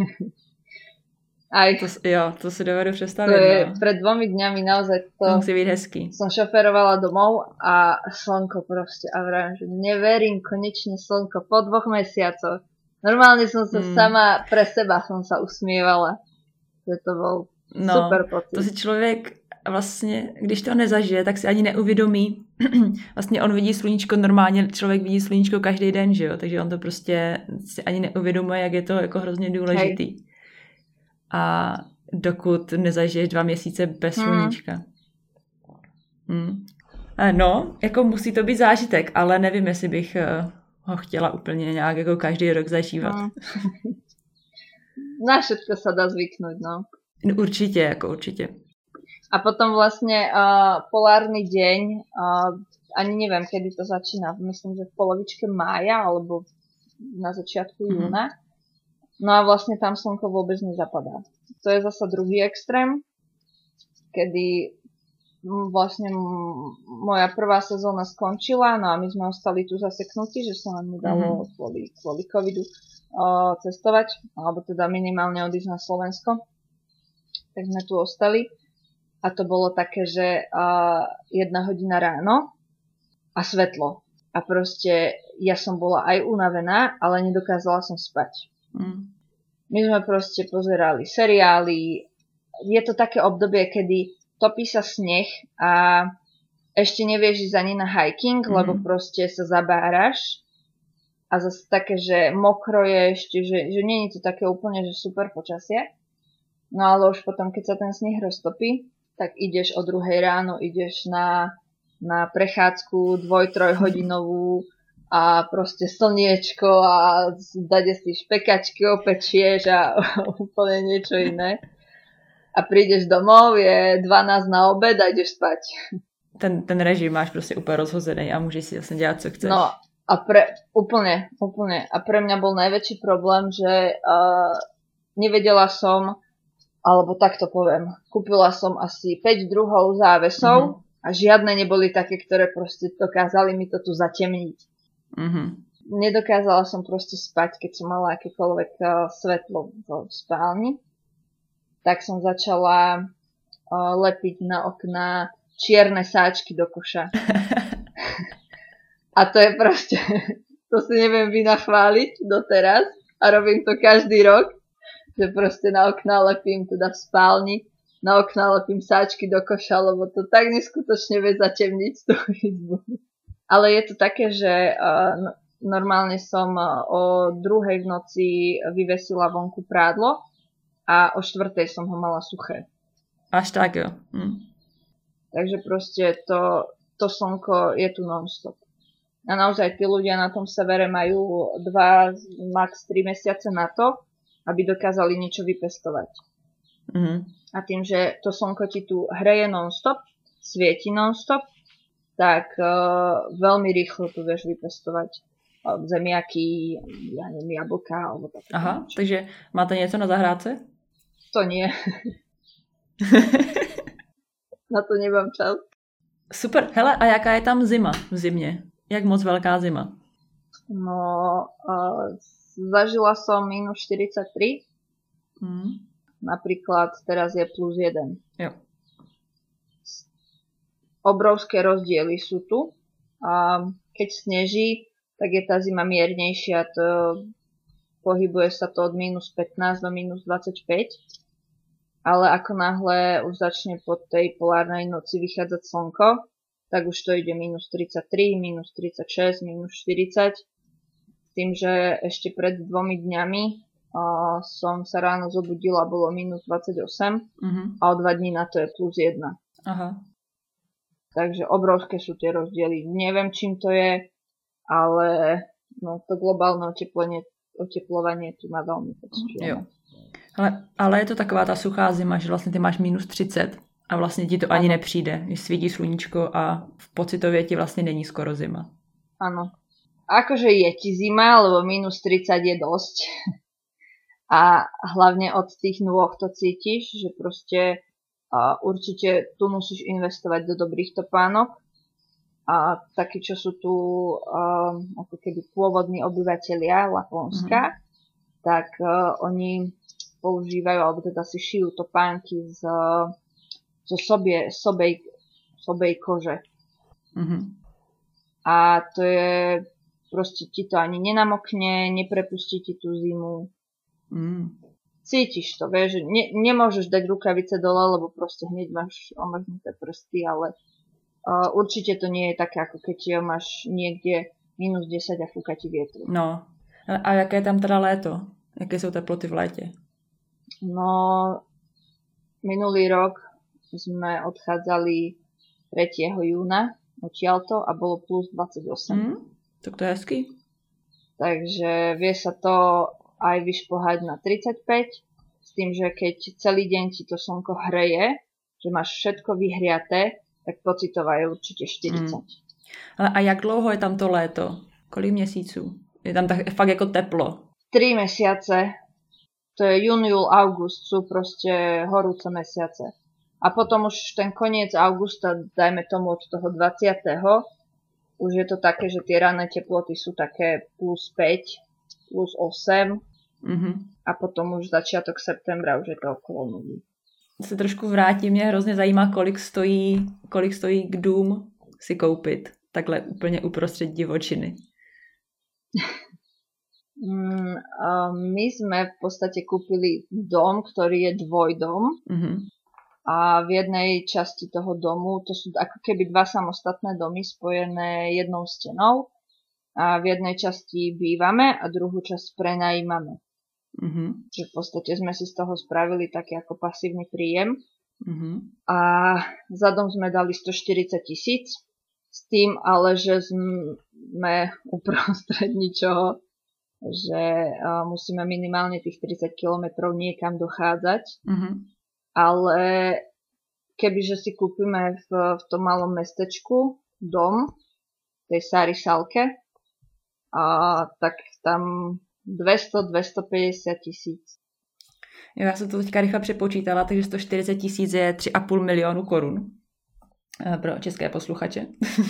Aj, to, jo, to si dovedu představit. To je, no. Pred dvomi dňami naozaj to, to musí byť hezký. Som šoferovala domov a slnko proste. A vravím, že neverím, konečne slnko po dvoch mesiacoch. Normálne som sa mm. sama pre seba som sa usmievala. Že to bol no, super pocit. To si člověk vlastně, když to nezažije, tak si ani neuvědomí. Vlastně on vidí sluníčko normálně, člověk vidí sluníčko každý den, že jo? Takže on to prostě si ani neuvědomuje, jak je to jako hrozně důležitý. Hej. A dokud nezažiješ dva měsíce bez Hmm. sluníčka. Hmm. No, jako musí to být zážitek, ale nevím, jestli bych ho chtěla úplně nějak jako každý rok zažívat. Hmm. Na všetko sa dá zvyknúť, no. Určitě, jako určitě. A potom vlastne uh, polárny deň, uh, ani neviem, kedy to začína, myslím, že v polovičke mája alebo na začiatku Mhm. júna. No a vlastne tam slnko vôbec nezapadá. To je zasa druhý extrém, kedy mm, vlastne m- moja prvá sezóna skončila, no a my sme ostali tu zaseknutí, že sa nám nedalo kvôli, kvôli covidu uh, cestovať, alebo teda minimálne odísť na Slovensko. Tak sme tu ostali. A to bolo také, že uh, jedna hodina ráno a svetlo. A proste ja som bola aj unavená, ale nedokázala som spať. Mm. My sme proste pozerali seriály. Je to také obdobie, kedy topí sa sneh a ešte nevieš ísť ani na hiking, Mhm. lebo proste sa zabáraš. A zase také, že mokro je ešte, že, že nie je to také úplne, že super počasie. No ale už potom, keď sa ten sneh roztopí, tak ideš o druhej ráno, ideš na, na prechádzku dvoj, trojhodinovú a proste slniečko a dade si špekačky, opečieš a úplne niečo iné. A prídeš domov, je dvanásť na obed a ideš spať. Ten, ten režim máš prostě úplně rozhozený a můžeš si vlastně dělat, co chceš. No a pre, úplne, úplne. A pre mňa bol najväčší problém, že uh, nevedela som, alebo takto poviem, kúpila som asi päť druhov závesov mm-hmm. a žiadne neboli také, ktoré proste dokázali mi to tu zatemniť. Mm-hmm. Nedokázala som proste spať, keď som mala akékoľvek uh, svetlo v spálni. Tak som začala uh, lepiť na okná čierne sáčky do koša. A to je proste, to si neviem vynachváliť doteraz a robím to každý rok, že proste na okná lepím teda v spálni, na okná lepím sáčky do koša, lebo to tak neskutočne vie zatemniť tú izbu. Ale je to také, že uh, normálne som uh, o druhej v noci vyvesila vonku prádlo a o štvrtej som ho mala suché. Až tak, jo. Hm. Takže proste to, to slnko je tu non-stop. A naozaj tí ľudia na tom severe majú dva, max tri mesiace na to, aby dokázali niečo vypestovať. Mm-hmm. A tým, že to slnko ti tu hreje non-stop, svieti non-stop, tak uh, veľmi rýchlo tu vieš vypestovať uh, zemiaky, ja neviem, jablka alebo také. Aha, niečo. Takže máte něco na zahrádce? To nie. Na to nemám čas. Super. Hele, a jaká je tam zima v zimě? Jak moc veľká zima? No, uh, zažila som minus štyridsaťtri. Mm. Napríklad teraz je plus jeden. Jo. Obrovské rozdiely sú tu. A keď sneží, tak je tá zima miernejšia. To pohybuje sa to od minus pätnásť do minus dvadsaťpäť. Ale ako náhle už začne po tej polárnej noci vychádzať slnko, tak už to ide minus tridsaťtri, minus tridsaťšesť, minus štyridsať. S tým, že ešte pred dvomi dňami uh, som sa ráno zobudila, bolo minus dvadsaťosem Mm-hmm. a o dva dní na to je plus jedna. Aha. Takže obrovské sú tie rozdiely. Neviem, čím to je, ale no, to globálne oteplenie, oteplovanie tu má veľmi pocitujeme. Jo. Ale, ale je to taková ta suchá zima, že vlastně ty máš minus třicet a vlastně ti to ani nepřijde, když svítí sluníčko a v pocitově ti vlastně není skoro zima. Áno. Akože je ti zima, lebo minus tridsať je dosť. A hlavne od tých nôh to cítiš, že proste uh, určite tu musíš investovať do dobrých topánok. A takí, čo sú tu uh, ako keby pôvodní obyvatelia Laponska, mm-hmm. tak uh, oni používajú, alebo teda si šijú topánky z, zo sobie, sobej, sobej kože. Mm-hmm. A to je, proste ti to ani nenamokne, neprepustí ti tú zimu. Mm. Cítiš to, vieš, že ne, nemôžeš dať rukavice dole, lebo proste hneď máš omrznuté prsty, ale uh, určite to nie je také, ako keď máš niekde minus desať a fúka ti vietru. No, a jaké je tam teda léto? Jaké jsou teploty v létě? No, Minulý rok sme odchádzali tretieho júna odtiaľto a bolo plus dvadsaťosem. Hmm, tak to je hezký. Takže vie sa to aj vyšplhať na tridsaťpäť, s tým, že keď celý deň ti to slnko hreje, že máš všetko vyhriaté, tak pocitová je určite štyridsať. Hmm. A jak dlouho je tam to léto? Kolik měsíců? Je tam tak fakt jako teplo? Tri mesiace. To je jún, júl, august, sú proste horúce mesiace. A potom už ten koniec augusta, dajme tomu od toho dvadsiateho už je to také, že tie ranné teploty sú také plus päť, plus osem mm-hmm. a potom už začiatok septembra už je to okolo nuly. Se trošku vrátím, mě hrozně zajímá, kolik stojí, kolik stojí k dům si koupit. Takhle úplně uprostřed divočiny. mm, my sme v podstate kúpili dom, ktorý je dvojdom. Mm-hmm. A v jednej časti toho domu, to sú ako keby dva samostatné domy spojené jednou stenou. A v jednej časti bývame a druhú časť prenajímame. Mm-hmm. Čiže v podstate sme si z toho spravili taký ako pasívny príjem. Mm-hmm. A za dom sme dali stoštyridsať tisíc. S tým ale, že sme uprostred ničoho, že uh, musíme minimálne tých tridsať kilometrov niekam dochádzať. Mm-hmm. Ale kebyže si kúpime v, v tom malom mestečku dom, v tej Sári Salke, a tak tam dvesto až dvestopäťdesiat tisíc. Já jsem to teďka rychle přepočítala, takže sto čtyřicet tisíc je tři a půl milionu korun pro české posluchače.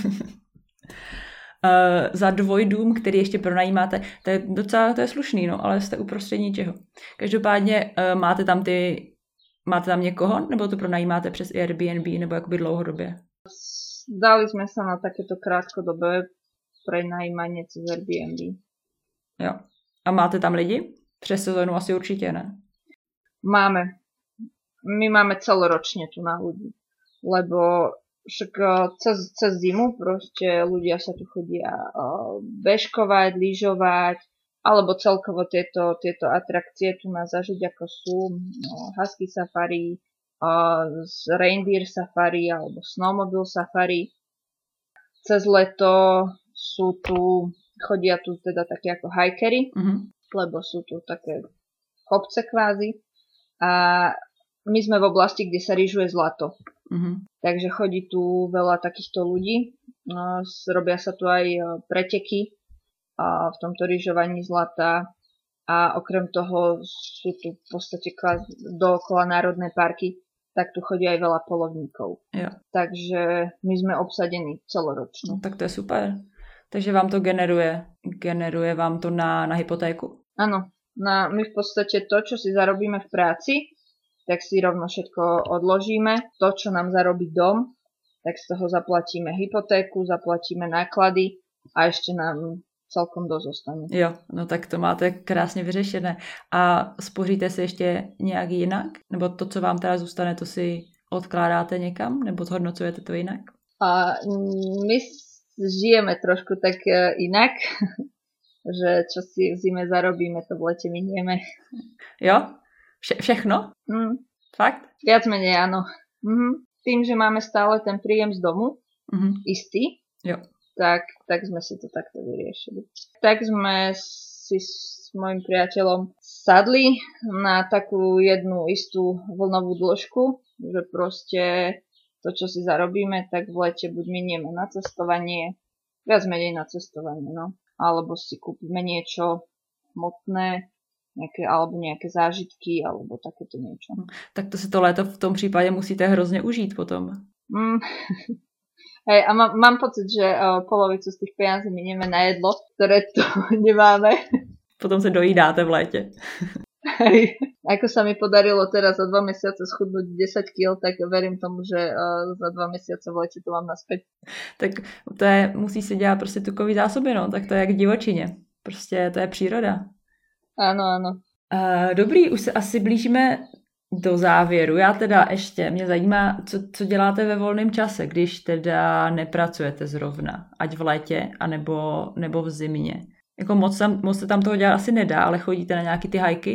Za dvojdům, který ještě pronajímáte, to je docela to je slušný, no, ale jste uprostřed ničeho. Každopádně máte tam ty Máte tam někoho, nebo to pronajímáte přes Airbnb, nebo jakoby dlouhodobě? Dali sme sa na takéto krátkodobé prenajímanie cez Airbnb. Jo. A máte tam lidi? Přes sezónu asi určitě ne. Máme. My máme celoročne tu na ľudí. Lebo však cez, cez zimu proste ľudia sa tu chodia bežkovať, lyžovať, alebo celkovo tieto, tieto atrakcie tu na zažiť, ako sú no, husky safari, uh, reindeer safari alebo snowmobile safari. Cez leto sú tu, chodia tu teda také ako hikery, mm-hmm. lebo sú tu také kopce kvázi. A my sme v oblasti, kde sa lyžuje zlato. Mm-hmm. Takže chodí tu veľa takýchto ľudí. No, robia sa tu aj preteky a v tomto lyžovaní zlata a okrem toho sú tu v podstate dookola národné parky, tak tu chodí aj veľa polovníkov. Jo. Takže my sme obsadení celoročne. No, tak to je super. Takže vám to generuje, generuje vám to na, na hypotéku? Áno, na, my v podstate to, čo si zarobíme v práci, tak si rovno všetko odložíme. To, čo nám zarobí dom, tak z toho zaplatíme hypotéku, zaplatíme náklady a ešte nám celkom dosť zostane. Jo, no tak to máte krásně vyřešené. A spoříte si ještě nějak jinak? Nebo to, co vám teda zůstane, to si odkládáte někam? Nebo zhodnocujete to jinak? A my žijeme trošku tak inak, že čo si v zime zarobíme, to v lete minieme. Jo? Vše, všechno? Mm. Fakt? Viac menej áno. Mhm. Tým, že máme stále ten príjem z domu, mm-hmm. istý, jo. Tak, tak sme si to takto vyriešili. Tak sme si s mojim priateľom sadli na takú jednu istú vlnovú dĺžku, že proste to, čo si zarobíme, tak v lete buď minieme na cestovanie, viac menej na cestovanie, no. Alebo si kúpime niečo hmotné, nejaké, alebo nejaké zážitky, alebo takéto niečo. Tak to si to léto v tom případě musíte hrozně užít potom. Mm. Hej, a mám, mám pocit, že uh, polovicu z tých peniazí minieme na jedlo, ktoré tu nemáme. Potom se dojídáte v létě. Hej, ako sa mi podarilo teraz za dva mesiace schudnúť desať kíl, tak verím tomu, že uh, za dva mesiace v lete to mám naspäť. Tak to je, musí si dělat prostě tukový zásoby, no, tak to je jak v divočině. Prostě to je příroda. Áno, áno. Uh, dobrý, už se asi blížíme do závěru. Já teda ještě, mě zajímá, co, co děláte ve volném čase, když teda nepracujete zrovna, ať v létě, anebo, nebo v zimě. Jako moc, tam, moc se tam toho dělat asi nedá, ale chodíte na nějaký ty hajky,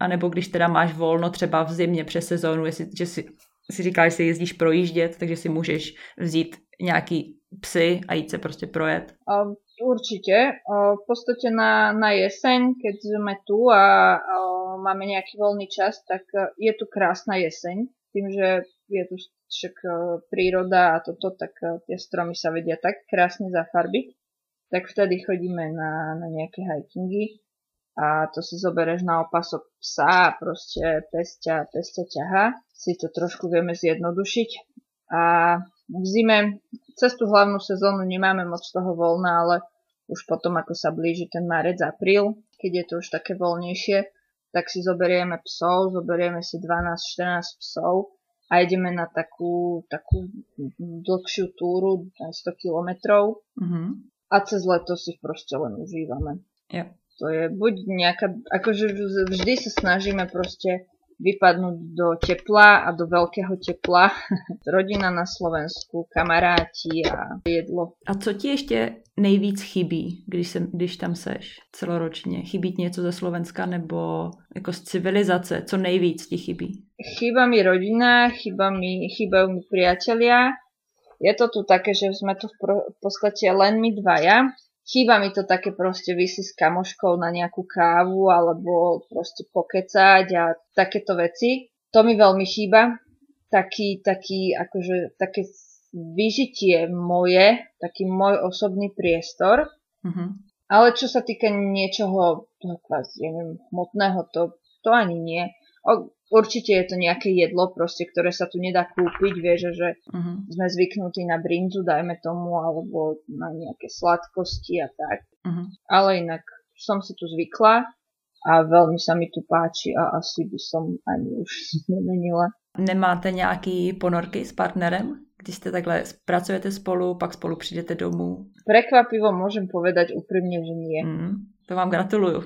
A nebo když teda máš volno třeba v zimě přes sezónu, jestli, že si, si říkáš, že si jezdíš projíždět, takže si můžeš vzít nějaký psy a jít se prostě projet. Um, určite. Um, v podstate na, na jeseň, keď sme tu a um, máme nejaký voľný čas, tak uh, je tu krásna jeseň. Tým, že je tu však uh, príroda a toto, tak uh, tie stromy sa vedia tak krásne zafarbiť. Tak vtedy chodíme na, na nejaké hikingy a to si zoberieš na opasok psa a proste pesťa, pesťa ťaha. Si to trošku vieme zjednodušiť. A v zime cez tú hlavnú sezónu nemáme moc toho voľna, ale už potom, ako sa blíži ten marec, apríl, keď je to už také voľnejšie, tak si zoberieme psov, zoberieme si dvanásť štrnásť psov a ideme na takú, takú dlhšiu túru, aj sto kilometrov. Mm-hmm. A cez leto si proste len užívame. Yep. To je buď nejaká, akože vždy sa snažíme proste vypadnúť do tepla a do veľkého tepla. Rodina na Slovensku, kamaráti a jedlo. A co ti ještě nejvíc chybí, když, se, když tam seš celoročně? Chybí ti něco ze Slovenska nebo jako z civilizace? Co nejvíc ti chybí? Chýba mi rodina, chýba mi, chýbajú mi priatelia. Je to tu také, že sme tu v, pro, v podstate len my dvaja. Chýba mi to také proste vysi s kamoškou na nejakú kávu alebo proste pokecať a takéto veci. To mi veľmi chýba. Taký, taký, akože, také vyžitie moje, taký môj osobný priestor. Mm-hmm. Ale čo sa týka niečoho, ja neviem, hmotného, to, to ani nie. O, určite je to nejaké jedlo, proste, ktoré sa tu nedá kúpiť, vieš, že uh-huh. sme zvyknutí na brinzu, dajme tomu, alebo na nejaké sladkosti a tak. Uh-huh. Ale inak som si tu zvykla a veľmi sa mi tu páči a asi by som ani už nemenila. Nemáte nějaký ponorky s partnerem? Když ste takhle pracujete spolu, pak spolu přijdete domů? Prekvapivo môžem povedať úprimne, že nie. Mm, to vám gratuluju.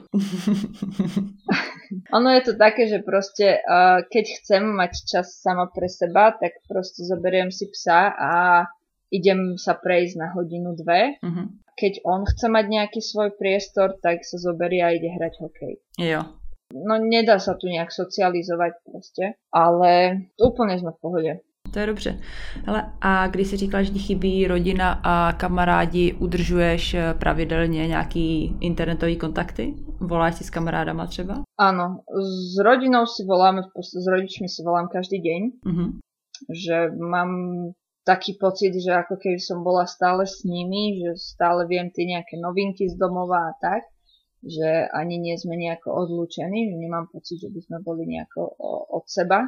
Ono je to také, že proste uh, keď chcem mať čas sama pre seba, tak proste zoberiem si psa a idem sa prejsť na hodinu, dve. Mm-hmm. Keď on chce mať nejaký svoj priestor, tak sa zoberie a ide hrať hokej. Jo. No nedá sa tu nejak socializovať proste, ale úplne sme v pohode. To je dobře. Hele, a když jsi říkala, že ti chybí rodina a kamarádi, udržuješ pravidelně nějaký internetový kontakty? Voláš si s kamarádama třeba? Áno, s rodinou si voláme, s rodičmi si volám každý deň. Mm-hmm. Že mám taký pocit, že ako keby som bola stále s nimi, že stále viem tie nejaké novinky z domova a tak, že ani nie sme nejako odlúčení, že nemám pocit, že by sme boli nejako od seba.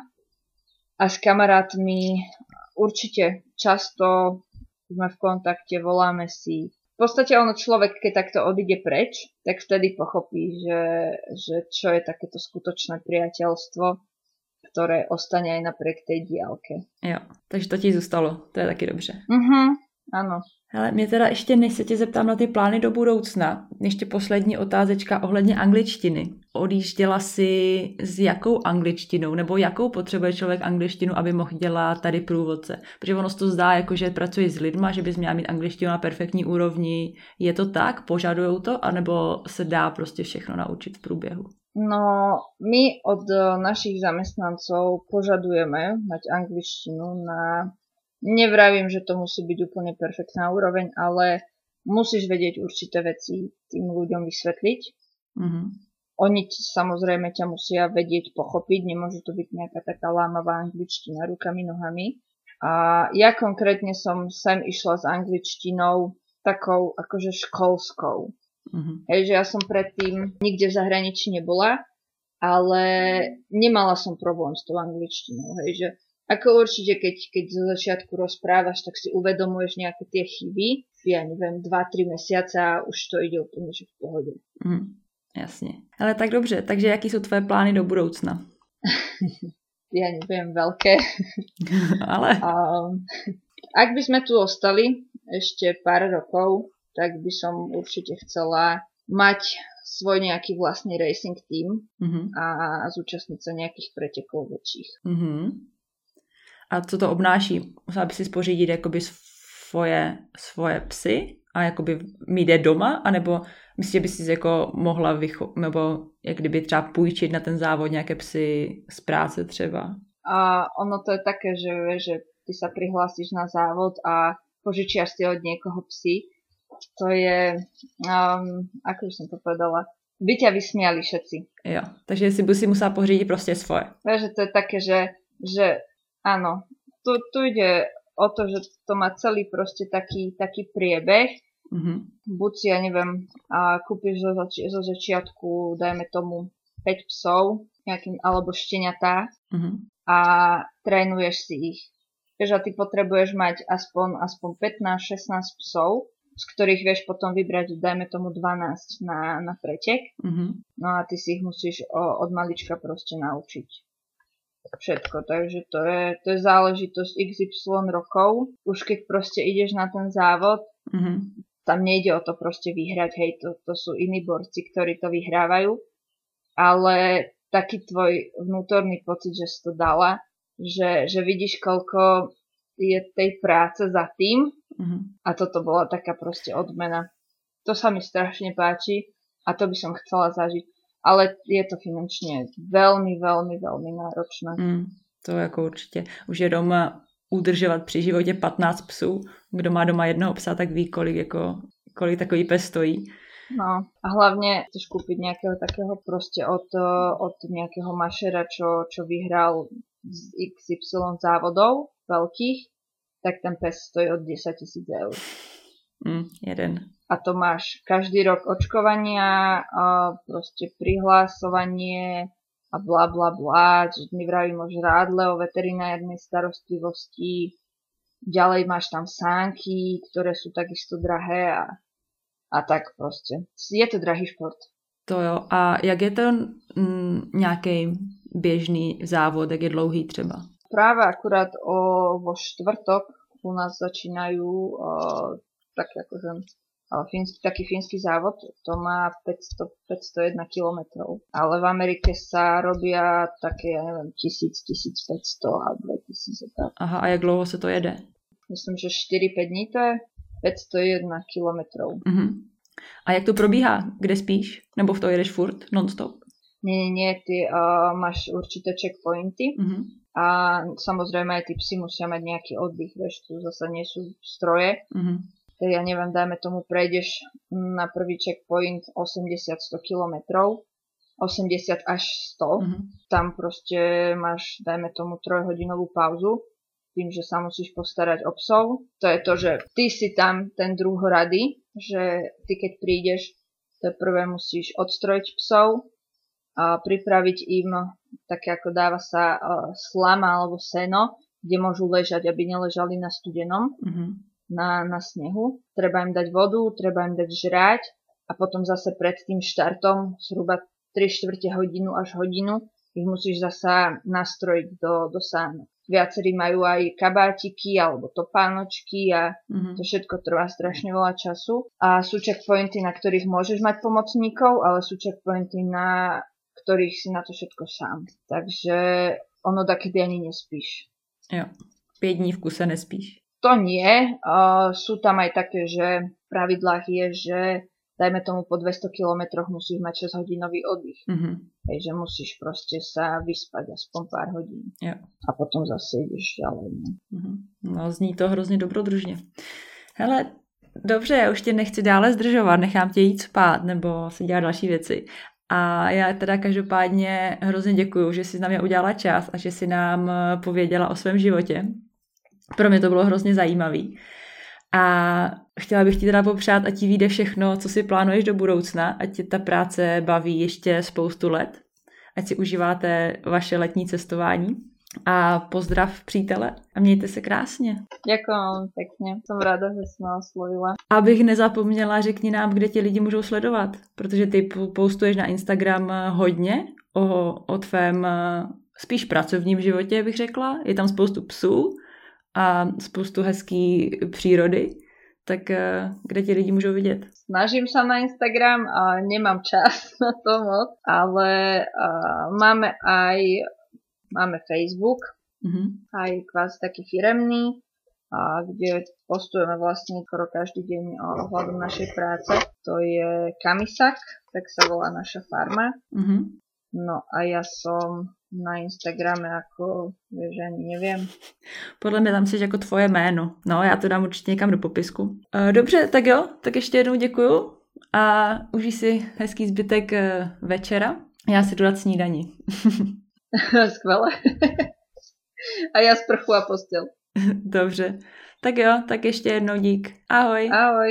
A s kamarátmi určite často sme v kontakte, voláme si. V podstate ono človek, keď takto odíde preč, tak vtedy pochopí, že, že čo je takéto skutočné priateľstvo, ktoré ostane aj napriek tej diálke. Jo, takže to ti zůstalo, to je taky dobře. Mhm, áno. Hele, mě teda ještě, než se tě zeptám na ty plány do budoucna, ještě poslední otázečka ohledně angličtiny. Odjížděla jsi s jakou angličtinou, nebo jakou potřebuje člověk angličtinu, aby mohl dělat tady průvodce? Protože ono se to zdá, jako že pracuješ s lidma, že bys měla mít angličtinu na perfektní úrovni. Je to tak? Požadujou to? Anebo se dá prostě všechno naučit v průběhu? No, my od našich zamestnancov požadujeme mať angličtinu na... Nevravím, že to musí byť úplne perfektná úroveň, ale musíš vedieť určité veci tým ľuďom vysvetliť. Mm-hmm. Oni samozrejme ťa musia vedieť pochopiť, nemôže to byť nejaká taká lámavá angličtina rukami, nohami. A ja konkrétne som sem išla s angličtinou takou akože školskou. Mm-hmm. Hej, že ja som predtým nikde v zahraničí nebola, ale nemala som problém s tou angličtinou. Hej, že ako určite, keď, keď zo začiatku rozprávaš, tak si uvedomuješ nejaké tie chyby. Ja neviem, dva tri mesiace a už to ide úplne že v pohode. Mm, jasne. Ale tak dobře, takže jaký sú tvoje plány do budoucna? Ja neviem, veľké. Ale? Um, ak by sme tu ostali ešte pár rokov, tak by som určite chcela mať svoj nejaký vlastný racing team mm-hmm. a, a zúčastniť sa nejakých pretekov väčších. Mm-hmm. A co to obnáší? Musela by si spořídit jakoby svoje, svoje psy? a jakoby mít je doma, anebo myslíš, že by si jako mohla vycho- nebo jak kdyby třeba půjčit na ten závod nějaké psy z práce třeba? A ono to je také, že, že ty sa prihlásiš na závod a požičiaš si od niekoho psy. To je, um, ako by som to povedala, by ťa vysmiali všetci. Jo, takže si by si musela pořídit prostě svoje. Takže to je také, že, že áno, tu, tu ide o to, že to má celý proste taký, taký priebeh. Mm-hmm. Buď si, ja neviem, a kúpiš zo, zači- zo začiatku, dajme tomu, päť psov, nejakým, alebo šteniatá, Mm-hmm. a trénuješ si ich. Vieš, a ty potrebuješ mať aspoň, aspoň pätnásť šestnásť psov, z ktorých vieš potom vybrať, dajme tomu dvanásť na, na pretek. Mm-hmm. No a ty si ich musíš o, od malička proste naučiť. Všetko, takže to je, to je záležitosť iks ypsilon rokov. Už keď proste ideš na ten závod, Mm-hmm. tam nejde o to proste vyhrať, hej, to, to sú iní borci, ktorí to vyhrávajú, ale taký tvoj vnútorný pocit, že si to dala, že, že vidíš, koľko je tej práce za tým, Mm-hmm. a toto bola taká proste odmena. To sa mi strašne páči a to by som chcela zažiť, ale je to finančne veľmi, veľmi, veľmi náročné. Mm, to jako určitě. Už je doma udržovat při životě patnáct psů. Kdo má doma jednoho psa, tak ví, kolik, jako, kolik takový pes stojí. No a hlavne chceš kúpiť nejakého takého proste od, od nejakého mašera, čo, čo vyhral z iks ypsilon závodov veľkých, tak ten pes stojí od desať tisíc eur. Mm, jeden. A to máš každý rok očkovania, a proste prihlásovanie a bla bla bla, čiže my vravíme o žrádle, o veterinárnej starostlivosti. Ďalej máš tam sánky, ktoré sú takisto drahé a, a tak proste. Je to drahý šport. To jo. A jak je to mm, nějaký běžný závod, jak je dlouhý třeba? Práve akurát o, vo štvrtok u nás začínajú o, tak akože, o, fínsky, taký fínsky závod, to má päťsto, päťstojedna kilometrov, ale v Amerike sa robia také, ja neviem, tisíc, tisícpäťsto a dvetisíc. Tak. Aha, a jak dlouho se to jede? Myslím, že štyri päť dní to je, päťstojedna kilometrov. Mhm. A jak to probíhá? Kde spíš? Nebo v to jedeš furt? Non-stop? Nie, nie, nie, ty uh, máš určité checkpointy. Mhm. A samozrejme aj tí psi musia mať nejaký oddych, vieš, tu zase nie sú stroje. Mhm. Tak ja neviem, dajme tomu, prejdeš na prvý checkpoint osemdesiat sto kilometrov, osemdesiat až sto. Mhm. Tam proste máš, dajme tomu, trojhodinovú pauzu, tým, že sa musíš postarať o psov. To je to, že ty si tam ten druhorady, že ty keď prídeš, to prvé musíš odstrojiť psov, a pripraviť im také, ako dáva sa uh, slama alebo seno, kde môžu ležať, aby neležali na studenom, Mhm. na, na snehu. Treba im dať vodu, treba im dať žrať a potom zase pred tým štartom zhruba tri štvrte hodinu až hodinu ich musíš zasa nastrojiť do, do sánok. Viacerí majú aj kabátiky alebo topánočky a Mhm. to všetko trvá strašne veľa času. A sú checkpointy, na ktorých môžeš mať pomocníkov, ale sú checkpointy, na ktorých si na to všetko sám. Takže ono takedy ani nespíš. Jo. Pět dní v kuse nespíš. To nie. Uh, sú tam aj také, že v pravidlách je, že dajme tomu po dvesto kilometroch musíš mať šesťhodinový oddych. Mhm. Takže musíš proste sa vyspať aspoň pár hodín. Jo. A potom zase ideš ďalej. Ne? Mhm. No, zní to hrozně dobrodružně. Hele, dobře, já už tě nechci dále zdržovat, nechám tě jít spát nebo si dělat další věci. A já teda každopádně hrozně děkuju, že jsi na mě udělala čas a že jsi nám pověděla o svém životě. Pro mě to bylo hrozně zajímavý. A chtěla bych ti teda popřát, ať ti vyjde všechno, co si plánuješ do budoucna, ať tě ta práce baví ještě spoustu let, ať si užíváte vaše letní cestování. A pozdrav přítele a mějte se krásně. Ďakujem pekne, som rada, že si ma oslovila. Abych nezapomněla, řekni nám, kde ti lidi můžou sledovat, protože ty postuješ na Instagram hodně o, o tvém spíš pracovním životě, bych řekla. Je tam spoustu psů a spoustu hezký přírody, tak kde ti lidi můžou vidět? Snažím sa na Instagram a nemám čas na to moc, ale uh, máme aj Máme Facebook, Mhm. aj kvázi taký firemný, a kde postujeme vlastne skoro každý deň ohľadom našej práce. To je Kamisak, tak sa volá naša farma. Mm-hmm. No a ja som na Instagrame ako, vieš, ani neviem. Podle mě tam jsi jako tvoje jméno. No, já to dám určitě někam do popisku. Dobře, tak jo, tak ještě jednou děkuju a užij si hezký zbytek večera. Já si jdu dát snídani. Skvěle. A já sprchu a postel. Dobře. Tak jo, tak ještě jednou dík. Ahoj. Ahoj.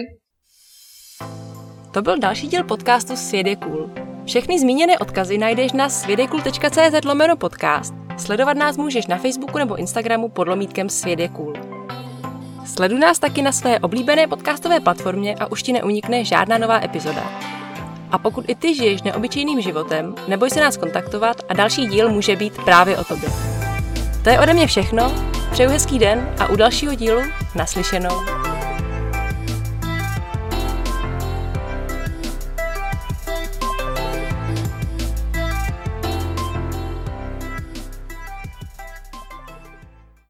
To byl další díl podcastu Svět je cool. Všechny zmíněné odkazy najdeš na světjekul tečka cz lomeno podcast. Sledovat nás můžeš na Facebooku nebo Instagramu pod lomítkem Svět je cool. Sleduj nás taky na své oblíbené podcastové platformě a už ti neunikne žádná nová epizoda. A pokud i ty žiješ neobyčejným životem, neboj se nás kontaktovat a další díl může být právě o tobě. To je ode mě všechno, přeju hezký den a u dalšího dílu naslyšenou.